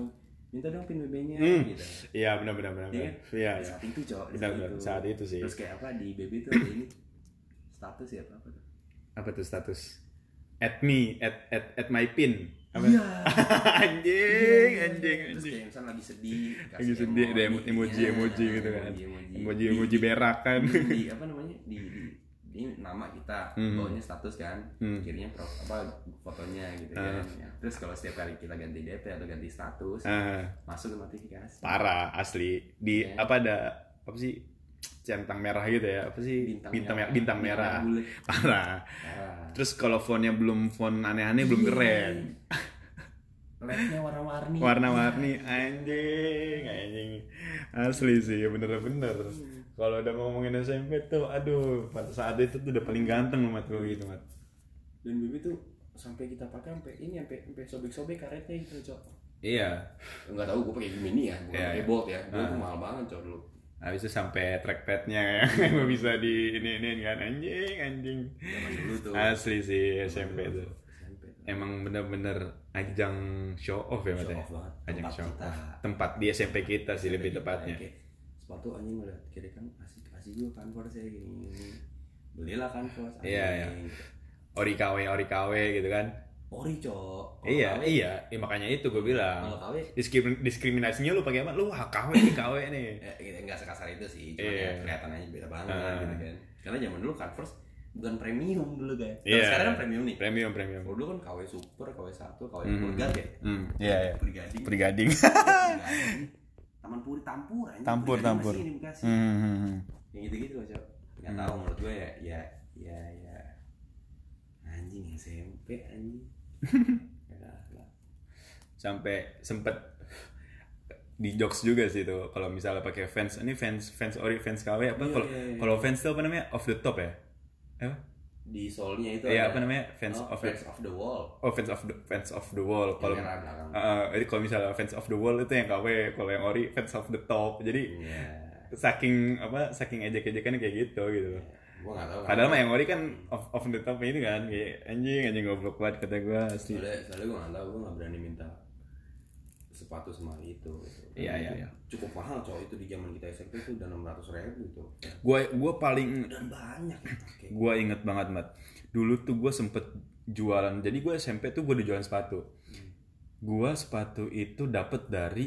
Speaker 1: minta dong pin B B-nya
Speaker 2: Hmm.
Speaker 1: gitu.
Speaker 2: Iya benar benar benar.
Speaker 1: Iya.
Speaker 2: Iya.
Speaker 1: Di saat itu cok, di
Speaker 2: Benar
Speaker 1: saat
Speaker 2: benar
Speaker 1: itu.
Speaker 2: saat itu sih.
Speaker 1: Terus kayak apa di B B tuh ada ini status ya apa apa tuh?
Speaker 2: Apa tuh status? At me, at at at my pin. Apa?
Speaker 1: Iya.
Speaker 2: anjing,
Speaker 1: Iya.
Speaker 2: anjing,
Speaker 1: Terus
Speaker 2: anjing.
Speaker 1: kayak misalnya lagi sedih,
Speaker 2: Lagi
Speaker 1: kasih
Speaker 2: sedih ada
Speaker 1: emoji,
Speaker 2: emoji
Speaker 1: iya,
Speaker 2: emoji gitu kan.
Speaker 1: emoji, emoji.
Speaker 2: Emoji
Speaker 1: Di-
Speaker 2: emoji
Speaker 1: di-
Speaker 2: berak kan.
Speaker 1: di, di apa namanya di, di ini nama kita,
Speaker 2: Hmm.
Speaker 1: bawahnya status kan,
Speaker 2: Hmm.
Speaker 1: kirinya pro, apa fotonya gitu
Speaker 2: Ah.
Speaker 1: kan. Ya. Terus kalau setiap kali kita ganti D P atau ganti status,
Speaker 2: Ah,
Speaker 1: masuk ke notifikasi.
Speaker 2: parah asli. Di
Speaker 1: Iya.
Speaker 2: apa ada apa sih? Centang merah gitu ya. Apa sih?
Speaker 1: Bintang
Speaker 2: Bintang
Speaker 1: merah.
Speaker 2: merah, bintang merah.
Speaker 1: bulat.
Speaker 2: Parah.
Speaker 1: Ah.
Speaker 2: Terus kalau fontnya belum font aneh-aneh belum
Speaker 1: Iya.
Speaker 2: keren.
Speaker 1: L E D-nya warna-warni.
Speaker 2: Warna-warni anjing, anjing. Asli sih, bener-bener. Kalau udah ngomongin S M P tuh, aduh, pada saat itu tuh udah paling ganteng loh mat gue gitu mat.
Speaker 1: Dan B B tuh sampai kita pakai sampai ini sampai sampai sobek-sobek karetnya gitu cok.
Speaker 2: Iya.
Speaker 1: Enggak tahu gue pakai Gemini ya, bukan
Speaker 2: Iya,
Speaker 1: pakai
Speaker 2: iya.
Speaker 1: Bolt ya. Gue
Speaker 2: Ah.
Speaker 1: tuh mahal banget cok dulu.
Speaker 2: Habis itu sampai trackpadnya ya, nggak bisa di ini ini kan anjing, anjing.
Speaker 1: Zaman dulu tuh.
Speaker 2: Asli sih S M P tuh.
Speaker 1: S M P tuh.
Speaker 2: Emang bener-bener ajang show off ya mat
Speaker 1: Show
Speaker 2: ya.
Speaker 1: off banget.
Speaker 2: Ajang
Speaker 1: Tempat
Speaker 2: show
Speaker 1: kita.
Speaker 2: off. Tempat di S M P kita sih lebih
Speaker 1: Kita
Speaker 2: tepatnya.
Speaker 1: kayak sepatu anjing ngeliat kiri kan asik asik gue Converse ya gini gini. Belilah Converse.
Speaker 2: Iya,
Speaker 1: anjing.
Speaker 2: Ori K W, Ori K W gitu kan.
Speaker 1: Ori cok. Kalau
Speaker 2: Iya,
Speaker 1: K W,
Speaker 2: iya, ya, makanya itu gue bilang.
Speaker 1: Kalau K W
Speaker 2: Diskrimin- diskriminasinya lu pakai apa? Lu ah, K W nih, K W nih.
Speaker 1: ya, ya, nggak sekasar itu sih, cuma
Speaker 2: Iya.
Speaker 1: ya kelihatan aja beda banget
Speaker 2: Ah.
Speaker 1: gitu kan. Karena zaman dulu Converse bukan premium dulu kan. Kalau
Speaker 2: Iya.
Speaker 1: sekarang kan premium nih.
Speaker 2: Premium, premium.
Speaker 1: Kalau dulu kan K W Super, K W satu, K W
Speaker 2: Hmm.
Speaker 1: Purgat ya.
Speaker 2: Hmm, iya, iya.
Speaker 1: Brigading.
Speaker 2: Brigading.
Speaker 1: Brigading. Taman Puri Tampur anjing.
Speaker 2: Tampur,
Speaker 1: Brigading
Speaker 2: tampur.
Speaker 1: masih ini di Bekasi.
Speaker 2: Hmm, hmm, hmm.
Speaker 1: Yang gitu-gitu loh, Cok. Enggak tahu menurut gue ya ya ya ya anjing S M P anjing. Ya lah.
Speaker 2: Sampai sempet di jokes juga sih tuh kalau misalnya pakai fans ini fans fans ori fans K W apa
Speaker 1: Iya,
Speaker 2: kalau
Speaker 1: iya, iya.
Speaker 2: kalau fans tuh apa namanya off the top ya apa
Speaker 1: Di soalnya itu
Speaker 2: Iya,
Speaker 1: ada
Speaker 2: apa namanya? Fans
Speaker 1: oh,
Speaker 2: of
Speaker 1: Fans of the Wall.
Speaker 2: oh fans of the fans of the wall kalau
Speaker 1: Yang merah belakang.
Speaker 2: uh, jadi kalau misalnya fans of the wall itu yang K W kalau yang ori fans of the top jadi
Speaker 1: Iya.
Speaker 2: saking apa saking ejek-ejekannya kayak gitu gitu loh.
Speaker 1: Gua enggak tahu.
Speaker 2: Padahal mah yang ori kan off off the top ini kan kayak anjing anjing goblok banget kata gue asli.
Speaker 1: soalnya soalnya gue nggak tahu, gue nggak berani minta sepatu semahal itu gitu.
Speaker 2: Iya, iya, iya.
Speaker 1: Cukup mahal cowok itu di zaman kita S M P itu udah enam ratus ribu itu.
Speaker 2: Gue gue paling
Speaker 1: Dan banyak yang pakai.
Speaker 2: gue inget banget mat dulu tuh gue sempet jualan jadi gue S M P tuh gue udah jualan sepatu. Gue sepatu itu dapet dari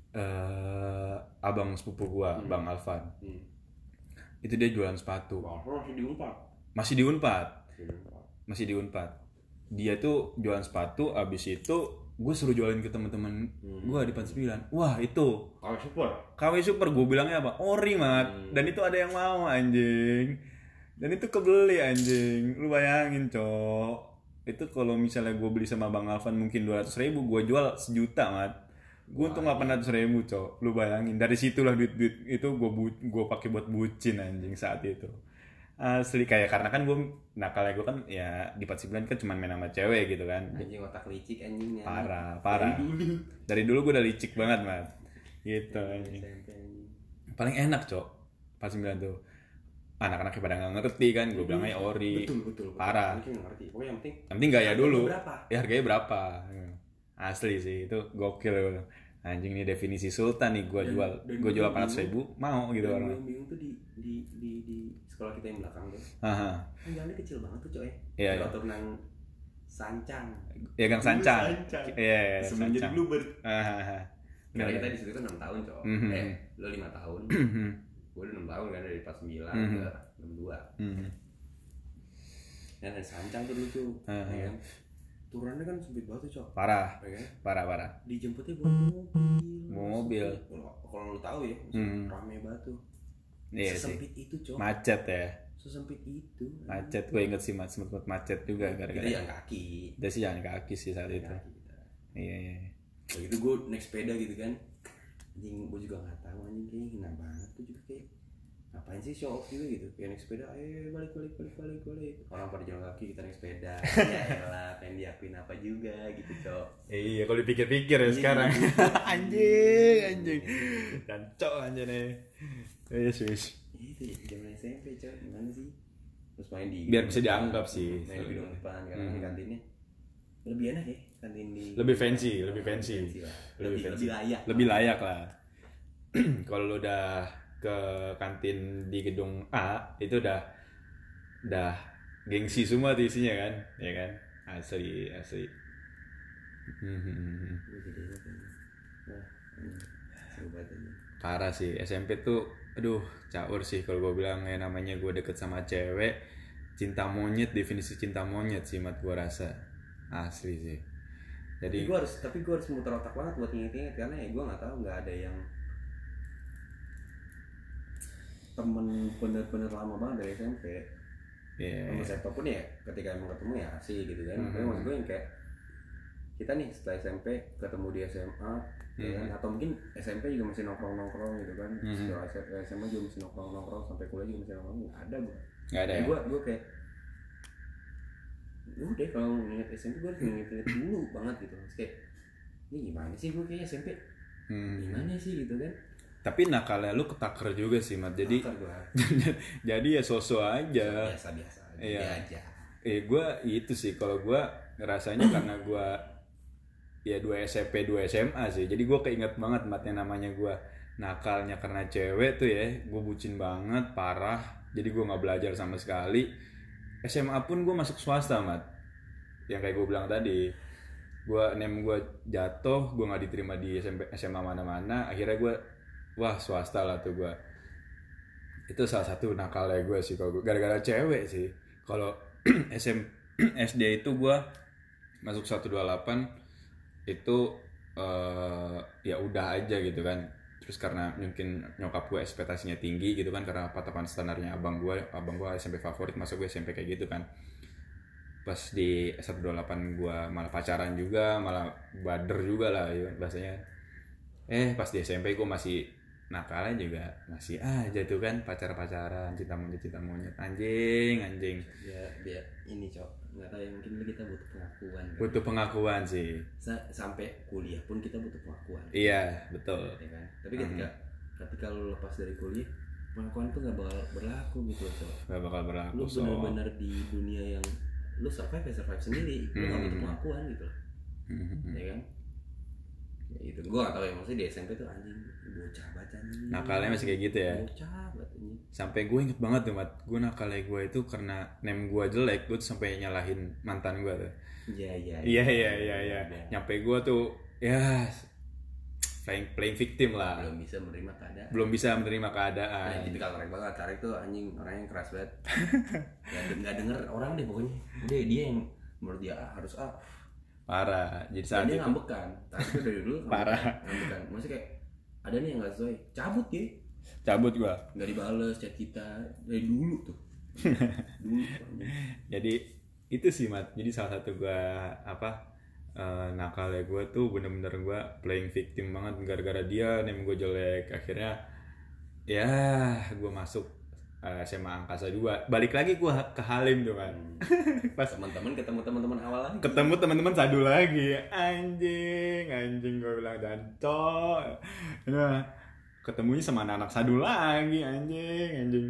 Speaker 2: eh, abang sepupu gue, Bang Alvan.
Speaker 1: Hmm.
Speaker 2: Itu dia jualan sepatu.
Speaker 1: Wah, masih diumpat.
Speaker 2: Masih di Unpad.
Speaker 1: Masih diumpat.
Speaker 2: Masih di Unpad. Dia tuh jualan sepatu, abis itu gue suruh jualin ke teman-teman gue di Pan sembilan. Wah itu
Speaker 1: Kalau super.
Speaker 2: K W Super, gue bilangnya apa? Ori mat. Dan itu ada yang mau anjing. Dan itu kebeli anjing. Lu bayangin cok. Itu kalau misalnya gue beli sama Bang Alvan mungkin dua ratus ribu, gue jual sejuta mat. Gue untung delapan ratus ribu cok. Lu bayangin. Dari situlah duit-duit itu gue bu- gue pakai buat bucin anjing saat itu. Asli kayak karena kan gue nakalnya gue kan ya di Pat sembilan kan cuma main sama cewek gitu kan.
Speaker 1: Anjing otak licik anjingnya.
Speaker 2: Parah, parah.
Speaker 1: Dari dulu.
Speaker 2: Dari dulu gue udah licik banget mat. Gitu anjing.
Speaker 1: S M P anjing.
Speaker 2: Paling enak cok Pat sembilan tuh. Anak-anaknya pada nggak ngerti kan, gue bilang aja ori.
Speaker 1: Betul, betul, betul.
Speaker 2: Parah.
Speaker 1: Mungkin nggak ngerti. Pokoknya yang penting
Speaker 2: Yang penting gaya dulu.
Speaker 1: berapa?
Speaker 2: Ya harganya berapa? Asli sih itu gokil. Anjing ini definisi sultan nih gue
Speaker 1: Dan-
Speaker 2: jual.
Speaker 1: dan
Speaker 2: Gue jual
Speaker 1: gue
Speaker 2: delapan ratus ribu mau gitu
Speaker 1: Dan
Speaker 2: orang.
Speaker 1: yang bingung tuh di di di di sekolah kita yang belakang tuh.
Speaker 2: Haha.
Speaker 1: Kan jalannya kecil banget tuh coy.
Speaker 2: Iya, iya.
Speaker 1: Kalau turunan Sancang.
Speaker 2: Ya Gang Sancang.
Speaker 1: Sancang.
Speaker 2: Iya, iya,
Speaker 1: Sebelum jadi
Speaker 2: Sancang.
Speaker 1: Bluebird.
Speaker 2: Hahaha.
Speaker 1: Karena kita di situ kan enam tahun coy.
Speaker 2: Mhm.
Speaker 1: Eh, lo lima tahun. Gue udah enam tahun kan dari pas sembilan
Speaker 2: Mhm.
Speaker 1: ke enam dua.
Speaker 2: Hmm.
Speaker 1: Dan ada Sancang tuh dulu tuh.
Speaker 2: Ah,
Speaker 1: Ya
Speaker 2: iya.
Speaker 1: kan? Turunnya kan sempit banget tuh coy.
Speaker 2: Parah,
Speaker 1: Ya kan?
Speaker 2: parah, parah.
Speaker 1: Dijemputnya bawa mobil.
Speaker 2: Mobil.
Speaker 1: Kalau kalau lo tahu ya,
Speaker 2: Hmm.
Speaker 1: rame banget tuh.
Speaker 2: Iya sih.
Speaker 1: Sesempit itu coy.
Speaker 2: Macet ya.
Speaker 1: Sesempit itu.
Speaker 2: Macet gue inget sih mat sempet macet juga
Speaker 1: Kita
Speaker 2: gara-gara.
Speaker 1: yang kaki.
Speaker 2: Kita sih jalan kaki sih saat itu.
Speaker 1: Kaki kita.
Speaker 2: Iya, iya. iya.
Speaker 1: Begitu gue naik sepeda gitu kan, anjing gue juga nggak tahu anjing kayaknya hina banget tuh juga kayak ngapain sih show off juga gitu, kayak naik sepeda, ayo balik balik balik balik balik, orang pada jalan kaki kita naik sepeda, ya elah pengen diakuin apa juga gitu cok.
Speaker 2: Iya, kalau dipikir-pikir ya
Speaker 1: Iya,
Speaker 2: sekarang.
Speaker 1: iya.
Speaker 2: anjing, anjing. Dan cok anjing nih. Yes, yes.
Speaker 1: Itu ya zaman S M P cok, gimana sih? Terus main di
Speaker 2: Biar bisa dianggap sih.
Speaker 1: main di gedung depan karena
Speaker 2: Hmm.
Speaker 1: di kantinnya lebih enak ya. kantin di
Speaker 2: lebih fancy, lebih fancy,
Speaker 1: lah.
Speaker 2: lebih
Speaker 1: lebih,
Speaker 2: fancy,
Speaker 1: lebih layak,
Speaker 2: lebih layak lah. Kalau lu udah ke kantin di gedung A itu udah udah gengsi semua tuh isinya kan, ya kan, asli asli.
Speaker 1: Wah, seru banget ini.
Speaker 2: Parah sih S M P tuh, aduh caur sih kalau gue bilang. Ya namanya gue deket sama cewek, cinta monyet, definisi cinta monyet sih mat gue rasa, asli sih. Jadi
Speaker 1: gue harus tapi gue harus muter otak banget buat inget-inget karena ya gue nggak tahu, nggak ada yang temen bener-bener lama banget dari S M P.
Speaker 2: yeah.
Speaker 1: Sama siapapun ya ketika emang ketemu ya asik gitu kan.
Speaker 2: Mm-hmm.
Speaker 1: Tapi maksud gue yang kayak kita nih setelah S M P ketemu di S M A, mm-hmm. ya kan? Atau mungkin S M P juga masih nongkrong-nongkrong gitu kan. Mm-hmm. Setelah S M A juga masih nongkrong-nongkrong, sampai kuliah juga masih nongkrong. Nggak ada gue.
Speaker 2: Nggak ada.
Speaker 1: Ya,
Speaker 2: ya?
Speaker 1: gue gue kayak udah kalau nginget S M P gue harus nginget dulu banget gitu. Terus kayak ini gimana sih gue kayak S M P? Hmm. Gimana sih gitu kan?
Speaker 2: Tapi nakalnya lu ketaker juga sih mat. Jadi jadi ya sosok aja.
Speaker 1: Biasa-biasa
Speaker 2: iya.
Speaker 1: aja.
Speaker 2: Eh gue itu sih kalau gue ngerasanya karena gue ya dua S M P dua S M A sih. Jadi gue keinget banget mat yang namanya gue nakalnya karena cewek tuh ya. Gue bucin banget, parah. Jadi gue nggak belajar sama sekali. S M A pun gue masuk swasta mat. Yang kayak gue bilang tadi, gue nem gue jatuh, gue nggak diterima di S M P S M A mana-mana. Akhirnya gue wah swasta lah tuh gue. Itu salah satu nakalnya gue sih kalau gara-gara cewek sih. Kalau S M S D itu gue masuk seratus dua puluh delapan itu uh, ya udah aja gitu kan. Terus karena mungkin nyokap gue ekspektasinya tinggi gitu kan, karena patokan standarnya abang gue, abang gue S M P favorit, masuk gue S M P kayak gitu kan. Pas di seratus dua puluh delapan gue malah pacaran juga, malah bader juga lah ya, bahasanya. Eh pas di S M P gue masih nakalnya juga masih aja tuh kan, pacar-pacaran, cinta monyet cinta monyet, anjing anjing.
Speaker 1: Ya biar ini cok, nggak tahu ya, mungkin kita butuh pengakuan. Kan?
Speaker 2: Butuh pengakuan sih.
Speaker 1: Sa- sampai kuliah pun kita butuh pengakuan.
Speaker 2: Iya betul.
Speaker 1: Ya kan? Tapi ketika mm-hmm. ketika lu lepas dari kuliah, pengakuan tuh nggak bakal berlaku gitu cok.
Speaker 2: Nggak bakal berlaku.
Speaker 1: Lu benar-benar so. Di dunia yang lu survive ya survive sendiri, lu nggak mm-hmm. butuh pengakuan gitu. Mm-hmm. Ya kan? Ya itu gue gak tau ya, maksudnya di S M P tuh anjing bocah baca nih,
Speaker 2: nakalnya masih kayak gitu ya,
Speaker 1: bocah batanya. Sampai
Speaker 2: gue inget banget tuh mat, gue nakalnya gue itu karena name gue jelek, gue tuh sampai nyalahin mantan gue tuh.
Speaker 1: Iya iya
Speaker 2: iya iya iya iya nyampe gue tuh ya playing playing victim lah,
Speaker 1: belum bisa menerima keadaan
Speaker 2: belum bisa menerima keadaan.
Speaker 1: Nah, tipikal Tarik banget, Tarik tuh anjing orangnya keras banget. Gak, gak denger orang deh pokoknya, udah dia yang menurut dia ah, harus ah
Speaker 2: parah. Jadi saat
Speaker 1: dia
Speaker 2: itu
Speaker 1: ngambekan, tapi itu dari dulu
Speaker 2: parah
Speaker 1: ngambekan. Maksudnya kayak ada nih yang nggak sesuai, cabut ya.
Speaker 2: Cabut gua.
Speaker 1: Nggak dibales chat kita dari dulu tuh. dulu.
Speaker 2: Jadi itu sih mat. Jadi salah satu gua apa uh, nakalnya gua tuh bener-bener gua playing victim banget gara-gara dia name gua jelek. Akhirnya ya gua masuk Uh, S M A Angkasa dua, balik lagi gue ke Halim tuh kan.
Speaker 1: hmm. Pas teman-teman ketemu teman-teman awal lagi,
Speaker 2: ketemu teman-teman sadu lagi, anjing anjing gue bilang danco. Nah ketemunya sama anak-anak sadu lagi, anjing anjing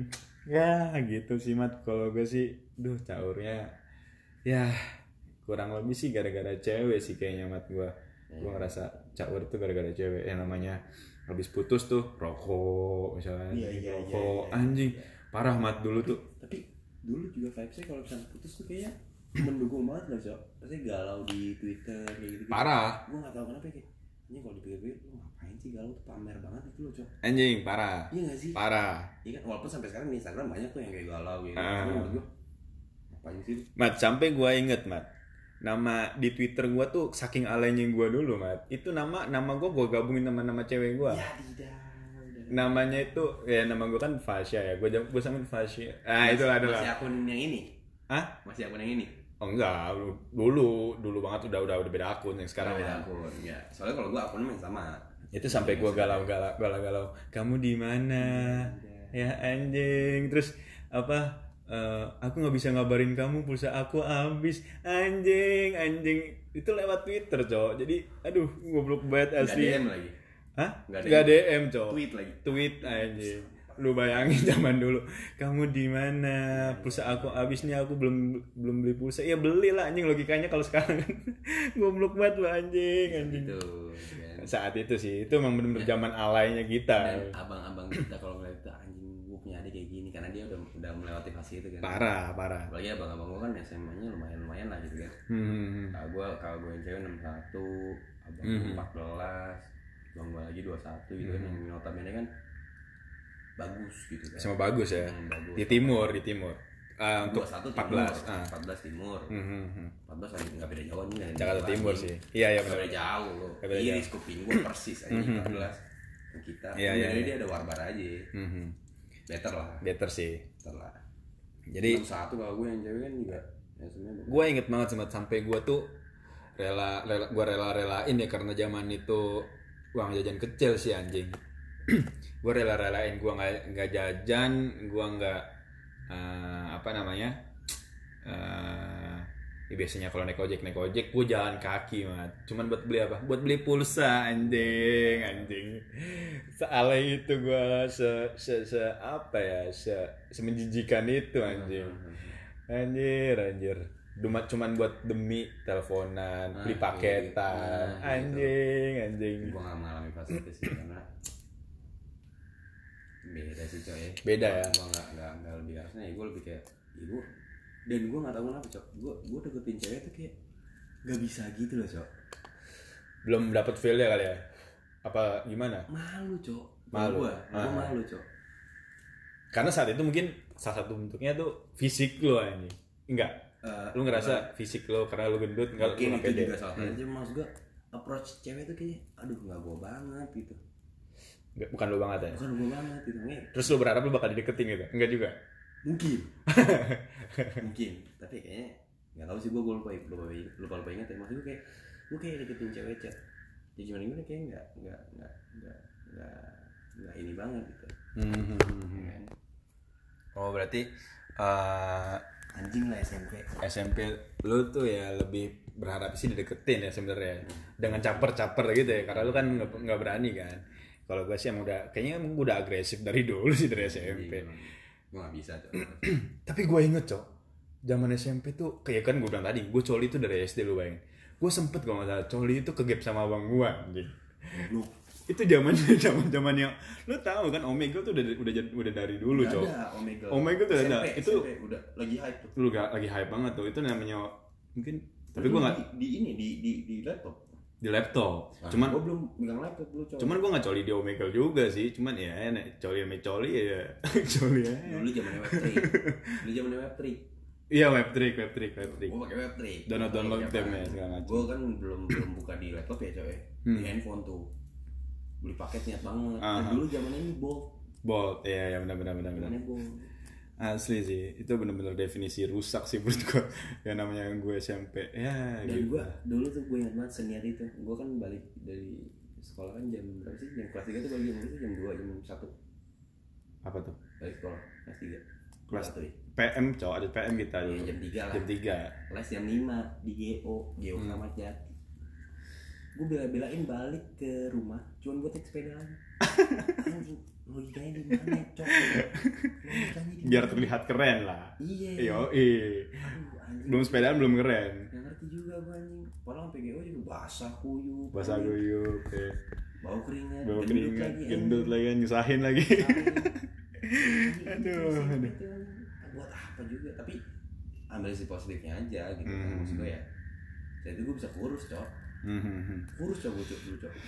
Speaker 2: ya gitu sih mat. Kalau gue sih duh caurnya ya kurang lebih sih gara-gara cewek sih kayaknya mat. Gue gue ngerasa caur tuh gara-gara cewek. Yang namanya habis putus tuh rokok misalnya,
Speaker 1: iya, iya,
Speaker 2: rokok
Speaker 1: iya, iya,
Speaker 2: anjing
Speaker 1: iya.
Speaker 2: Parah mat dulu tuh.
Speaker 1: Tapi dulu juga vibesnya kalau misalnya putus tuh kayaknya mendukung banget loh cok. Pasti galau di Twitter kayak gitu.
Speaker 2: Parah.
Speaker 1: Gue nggak tahu kenapa kayak ini kalau dipikir-pikir lu ngapain sih galau tuh, pamer banget itu loh cok.
Speaker 2: Anjing parah.
Speaker 1: Iya nggak sih?
Speaker 2: Parah.
Speaker 1: Iya kan, walaupun sampai sekarang di Instagram banyak tuh yang kayak galau gitu. Uh. Tapi menurut gue ngapain sih?
Speaker 2: Mat sampai gue inget mat. Nama di Twitter gue tuh saking alaynya gue dulu mat. Itu nama nama gue gue gabungin sama nama cewek gue.
Speaker 1: Ya tidak.
Speaker 2: Namanya itu ya nama gue kan Fasya ya, gue gue samain Fasya. Ah itu adalah
Speaker 1: masih akun yang ini.
Speaker 2: Hah?
Speaker 1: Masih akun yang ini?
Speaker 2: Oh enggak, dulu dulu banget udah udah udah beda akun yang sekarang.
Speaker 1: Beda akun ya. Soalnya kalau gue akunnya sama.
Speaker 2: Itu sampai gue galau-galau galau-galau. Kamu di mana? Ya anjing. Terus apa? Uh, aku nggak bisa ngabarin kamu, pulsa aku habis. Anjing anjing. Itu lewat Twitter cowok. Jadi aduh goblok banget asli.
Speaker 1: Nggak D M lagi.
Speaker 2: Hah? Gak D M cowok.
Speaker 1: Tweet lagi.
Speaker 2: Tweet anjing. lu bayangin zaman dulu, kamu di mana? Pulsa aku habis nih, aku belum belum beli pulsa. Ya beli lah anjing, logikanya kalau sekarang kan goblok banget lu anjing anjing.
Speaker 1: Itu kan.
Speaker 2: Saat itu sih, itu emang bener-bener zaman alaynya kita.
Speaker 1: Dan abang-abang kita kalau ngeliat itu anjing gue punya adik kayak gini karena dia udah udah melewati fase itu kan.
Speaker 2: Parah, parah.
Speaker 1: Apalagi abang-abang gue kan S M A-nya lumayan-lumayan lah gitu kan.
Speaker 2: Hmm.
Speaker 1: Kalau gue kalau gue yang cewek enam puluh satu, abang gue
Speaker 2: Hmm.
Speaker 1: empat belas, abang gue lagi dua puluh satu gitu kan, yang notabene kan bagus gitu kan.
Speaker 2: Sama bagus ya.
Speaker 1: Hmm, bagus.
Speaker 2: Di timur, di timur. Ah, untuk
Speaker 1: dua puluh satu
Speaker 2: empat belas.
Speaker 1: timur,
Speaker 2: Ah.
Speaker 1: empat belas timur.
Speaker 2: Hmm, hmm, hmm.
Speaker 1: empat belas lagi nggak beda jauh nih.
Speaker 2: Jakarta Timur sih. Iya, iya
Speaker 1: Nggak
Speaker 2: benar.
Speaker 1: beda jauh loh.
Speaker 2: Nggak beda
Speaker 1: Iris
Speaker 2: jauh.
Speaker 1: kuping gue persis aja empat belas. Yang kita.
Speaker 2: Iya,
Speaker 1: Jadi
Speaker 2: iya, iya.
Speaker 1: dia ada warbar aja.
Speaker 2: Hmm, hmm.
Speaker 1: Better lah.
Speaker 2: Better sih.
Speaker 1: Better lah.
Speaker 2: Jadi
Speaker 1: enam puluh satu kalau gue yang cewek kan juga. Ya sebenarnya.
Speaker 2: gue inget banget sempat sampai gue tuh rela, rela gue rela-relain ya karena zaman itu uang jajan kecil sih anjing. Gue rela-relain gue nggak nggak jajan, gue nggak eh, apa namanya eh ya biasanya kalau naik ojek naik ojek gue jalan kaki mat, cuman buat beli apa? Buat beli pulsa anjing anjing. Sealai itu gue se, se se apa ya se semenjijikan itu anjing. Anjir anjir. Cuma cuman buat demi teleponan, beli
Speaker 1: Ah,
Speaker 2: paketan,
Speaker 1: nah,
Speaker 2: anjing anjing.
Speaker 1: Gue gak mengalami fase itu sih karena beda sih coy.
Speaker 2: Beda ya?
Speaker 1: Gue gak, gak, gak lebih harusnya ya gue lebih kayak ya gue, dan gue gak tau kenapa cok, gue gue deketin cewek tuh kayak gak bisa gitu loh cok.
Speaker 2: Belum dapat feel-nya kali ya? Apa gimana?
Speaker 1: Malu cok.
Speaker 2: Malu.
Speaker 1: Gue
Speaker 2: Ah.
Speaker 1: malu cok.
Speaker 2: Karena saat itu mungkin salah satu bentuknya tuh fisik lo ini. Enggak.
Speaker 1: Uh,
Speaker 2: Lu ngerasa fisik lo karena lu gendut enggak lu
Speaker 1: mungkin
Speaker 2: nggak
Speaker 1: itu
Speaker 2: pede.
Speaker 1: juga salah satu aja. Maksud gue approach cewek tuh kayak aduh gak gue banget gitu.
Speaker 2: Nggak- Bukan lu banget ya.
Speaker 1: Bukan gue banget gitu. Nge,
Speaker 2: Terus lu berharap lu bakal dideketin gitu? Enggak juga.
Speaker 1: mungkin. Mungkin. Tapi kayaknya gak tau sih gue gue lupa lupa lupa lupa ingat ya. Maksud gue kayak gue kayak deketin cewek chat. Ya gimana gimana kayak nggak nggak nggak nggak nggak nggak ini banget gitu.
Speaker 2: Hmm. Oh berarti uh,
Speaker 1: Anjing lah S M P.
Speaker 2: S M P lu tuh ya lebih berharap sih dideketin ya sebenarnya dengan caper-caper gitu ya karena lu kan nggak nggak berani kan. Kalau gue sih emang udah kayaknya emang udah agresif dari dulu sih dari S M P.
Speaker 1: Gue nggak bisa tuh.
Speaker 2: Tapi gue inget cok, zaman S M P tuh kayak kan gue bilang tadi, gue coli itu dari S D lu bayangin. Gue sempet kalau nggak salah coli itu kegep sama abang gue anjing.
Speaker 1: Lu
Speaker 2: Itu zamannya zaman zaman yang lu tahu kan Omegle tuh udah udah udah dari dulu
Speaker 1: nggak
Speaker 2: cok.
Speaker 1: ada Omegle.
Speaker 2: Omegle tuh
Speaker 1: S M P,
Speaker 2: ada. Itu
Speaker 1: S M P udah lagi hype tuh.
Speaker 2: lu gak lagi hype banget tuh. Itu namanya mungkin tapi gue nggak
Speaker 1: di, di ini di di di laptop.
Speaker 2: di laptop.
Speaker 1: Nah,
Speaker 2: Cuman
Speaker 1: gue belum megang laptop dulu cowok.
Speaker 2: cuman gue nggak coli di Omegle juga sih. Cuman ya nek coli sama coli ya coli ya.
Speaker 1: dulu zamannya web tiga. Dulu zamannya web tiga.
Speaker 2: Iya web trick web trick web trick.
Speaker 1: Gue pakai web tiga.
Speaker 2: Download download game segala macam.
Speaker 1: Gue kan belum belum buka di laptop ya coy. Di handphone tuh. Beli paket niat banget.
Speaker 2: Aha.
Speaker 1: Dan dulu zamannya ini Bolt.
Speaker 2: Bolt, iya ya benar benar benar benar.
Speaker 1: Zamannya Bolt.
Speaker 2: Asli sih, itu benar-benar definisi rusak sih menurut gue. Yang namanya gue S M P, ya
Speaker 1: Dan
Speaker 2: gitu.
Speaker 1: gue dulu tuh gue ingat banget seniat itu. Gue kan balik dari sekolah kan jam berapa sih? Jam kelas tiga tuh balik jam berapa sih? Jam dua, jam satu.
Speaker 2: Apa tuh?
Speaker 1: Balik sekolah kelas tiga.
Speaker 2: Kelas
Speaker 1: satu ya.
Speaker 2: P M cowok ada P M kita dulu.
Speaker 1: Iya, jam tiga lah.
Speaker 2: Jam tiga.
Speaker 1: Les jam lima di G O, G O
Speaker 2: Hmm.
Speaker 1: Kramat Jati. Gue bela-belain balik ke rumah, cuman gue take sepeda lagi. Anjing, logikanya di mana, cok? Logikanya di
Speaker 2: Biar
Speaker 1: mana?
Speaker 2: terlihat keren lah.
Speaker 1: Iya.
Speaker 2: Yo, eh.
Speaker 1: Aduh, anjing.
Speaker 2: Belum sepedaan belum keren.
Speaker 1: Gak ngerti juga gue anjing. Padahal sampai G O juga basah kuyup.
Speaker 2: Bahasa
Speaker 1: anjing.
Speaker 2: guyup, eh.
Speaker 1: Bau keringat,
Speaker 2: Bawa
Speaker 1: gendut
Speaker 2: keringat,
Speaker 1: lagi,
Speaker 2: gendut lagi kan nyusahin lagi.
Speaker 1: Anjing,
Speaker 2: Aduh,
Speaker 1: anjing,
Speaker 2: aduh.
Speaker 1: itu, anjing. Buat apa juga? Tapi ambil si positifnya aja gitu kan.
Speaker 2: Hmm.
Speaker 1: Maksud gue ya. Jadi gue bisa kurus, cok.
Speaker 2: Mhm.
Speaker 1: Kurus cok, cok, dulu cok.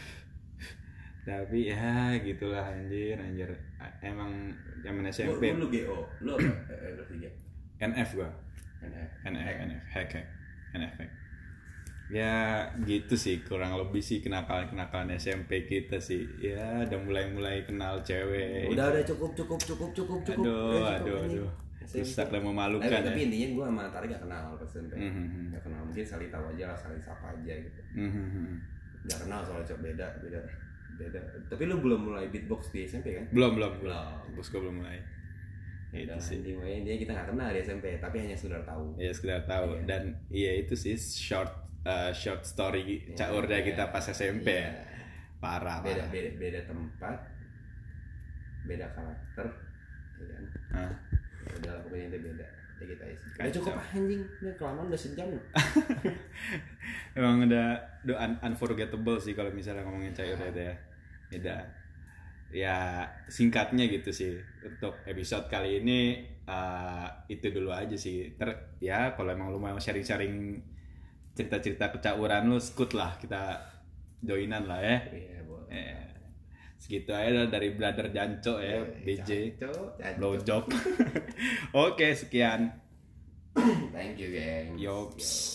Speaker 2: Tapi ya gitulah anjir, anjir. Emang zaman S M
Speaker 1: Lu,
Speaker 2: P
Speaker 1: lu, lu G O, lu apa? Eh, berarti G.
Speaker 2: N F gua.
Speaker 1: N F.
Speaker 2: N F, N F, hack, hack, N F, hack. Ya gitu sih kurang lebih sih kenakalan-kenakalan S M P kita sih. Ya udah mulai-mulai kenal cewek.
Speaker 1: Udah udah cukup cukup cukup cukup cukup.
Speaker 2: Aduh,
Speaker 1: Udah,
Speaker 2: aduh,
Speaker 1: cukup,
Speaker 2: aduh.
Speaker 1: S M P.
Speaker 2: Rusak dan memalukan
Speaker 1: Tapi,
Speaker 2: ya.
Speaker 1: tapi intinya gue sama Tari gak kenal pas S M P.
Speaker 2: Mhm.
Speaker 1: Gak kenal, mungkin saling tahu aja lah, saling sapa aja gitu.
Speaker 2: Mhm.
Speaker 1: Gak kenal soalnya cok, beda beda beda. Tapi lu belum mulai beatbox di S M P kan?
Speaker 2: Belum, belum, belum.
Speaker 1: Belum.
Speaker 2: Bos gua belum mulai. Itu
Speaker 1: Dan
Speaker 2: sih.
Speaker 1: intinya dia kita gak kenal di S M P, tapi hanya sekedar tahu.
Speaker 2: Ya sekedar tahu
Speaker 1: Iya.
Speaker 2: dan iya itu sih short uh, short story
Speaker 1: Iya,
Speaker 2: caurnya
Speaker 1: iya.
Speaker 2: kita pas S M P.
Speaker 1: Iya.
Speaker 2: Parah,
Speaker 1: Beda
Speaker 2: parah.
Speaker 1: beda beda tempat. beda karakter ya kan.
Speaker 2: Ah.
Speaker 1: Ya udah lah pokoknya itu beda ya kita isi udah
Speaker 2: Kacau.
Speaker 1: cukup anjing ini kelamaan udah sejam loh.
Speaker 2: Emang udah udah un- unforgettable sih kalau misalnya ngomongin cair itu ya. Beda. Ya singkatnya gitu sih untuk episode kali ini uh, itu dulu aja sih. Ter ya kalau emang lu mau sharing-sharing cerita-cerita kecauran lu skut lah kita joinan lah ya.
Speaker 1: Iya boleh.
Speaker 2: Eh, segitu aja dah dari Brother Janco ya, B J
Speaker 1: Janco, Janco.
Speaker 2: blowjob. Oke, sekian.
Speaker 1: Thank you geng.
Speaker 2: Yops.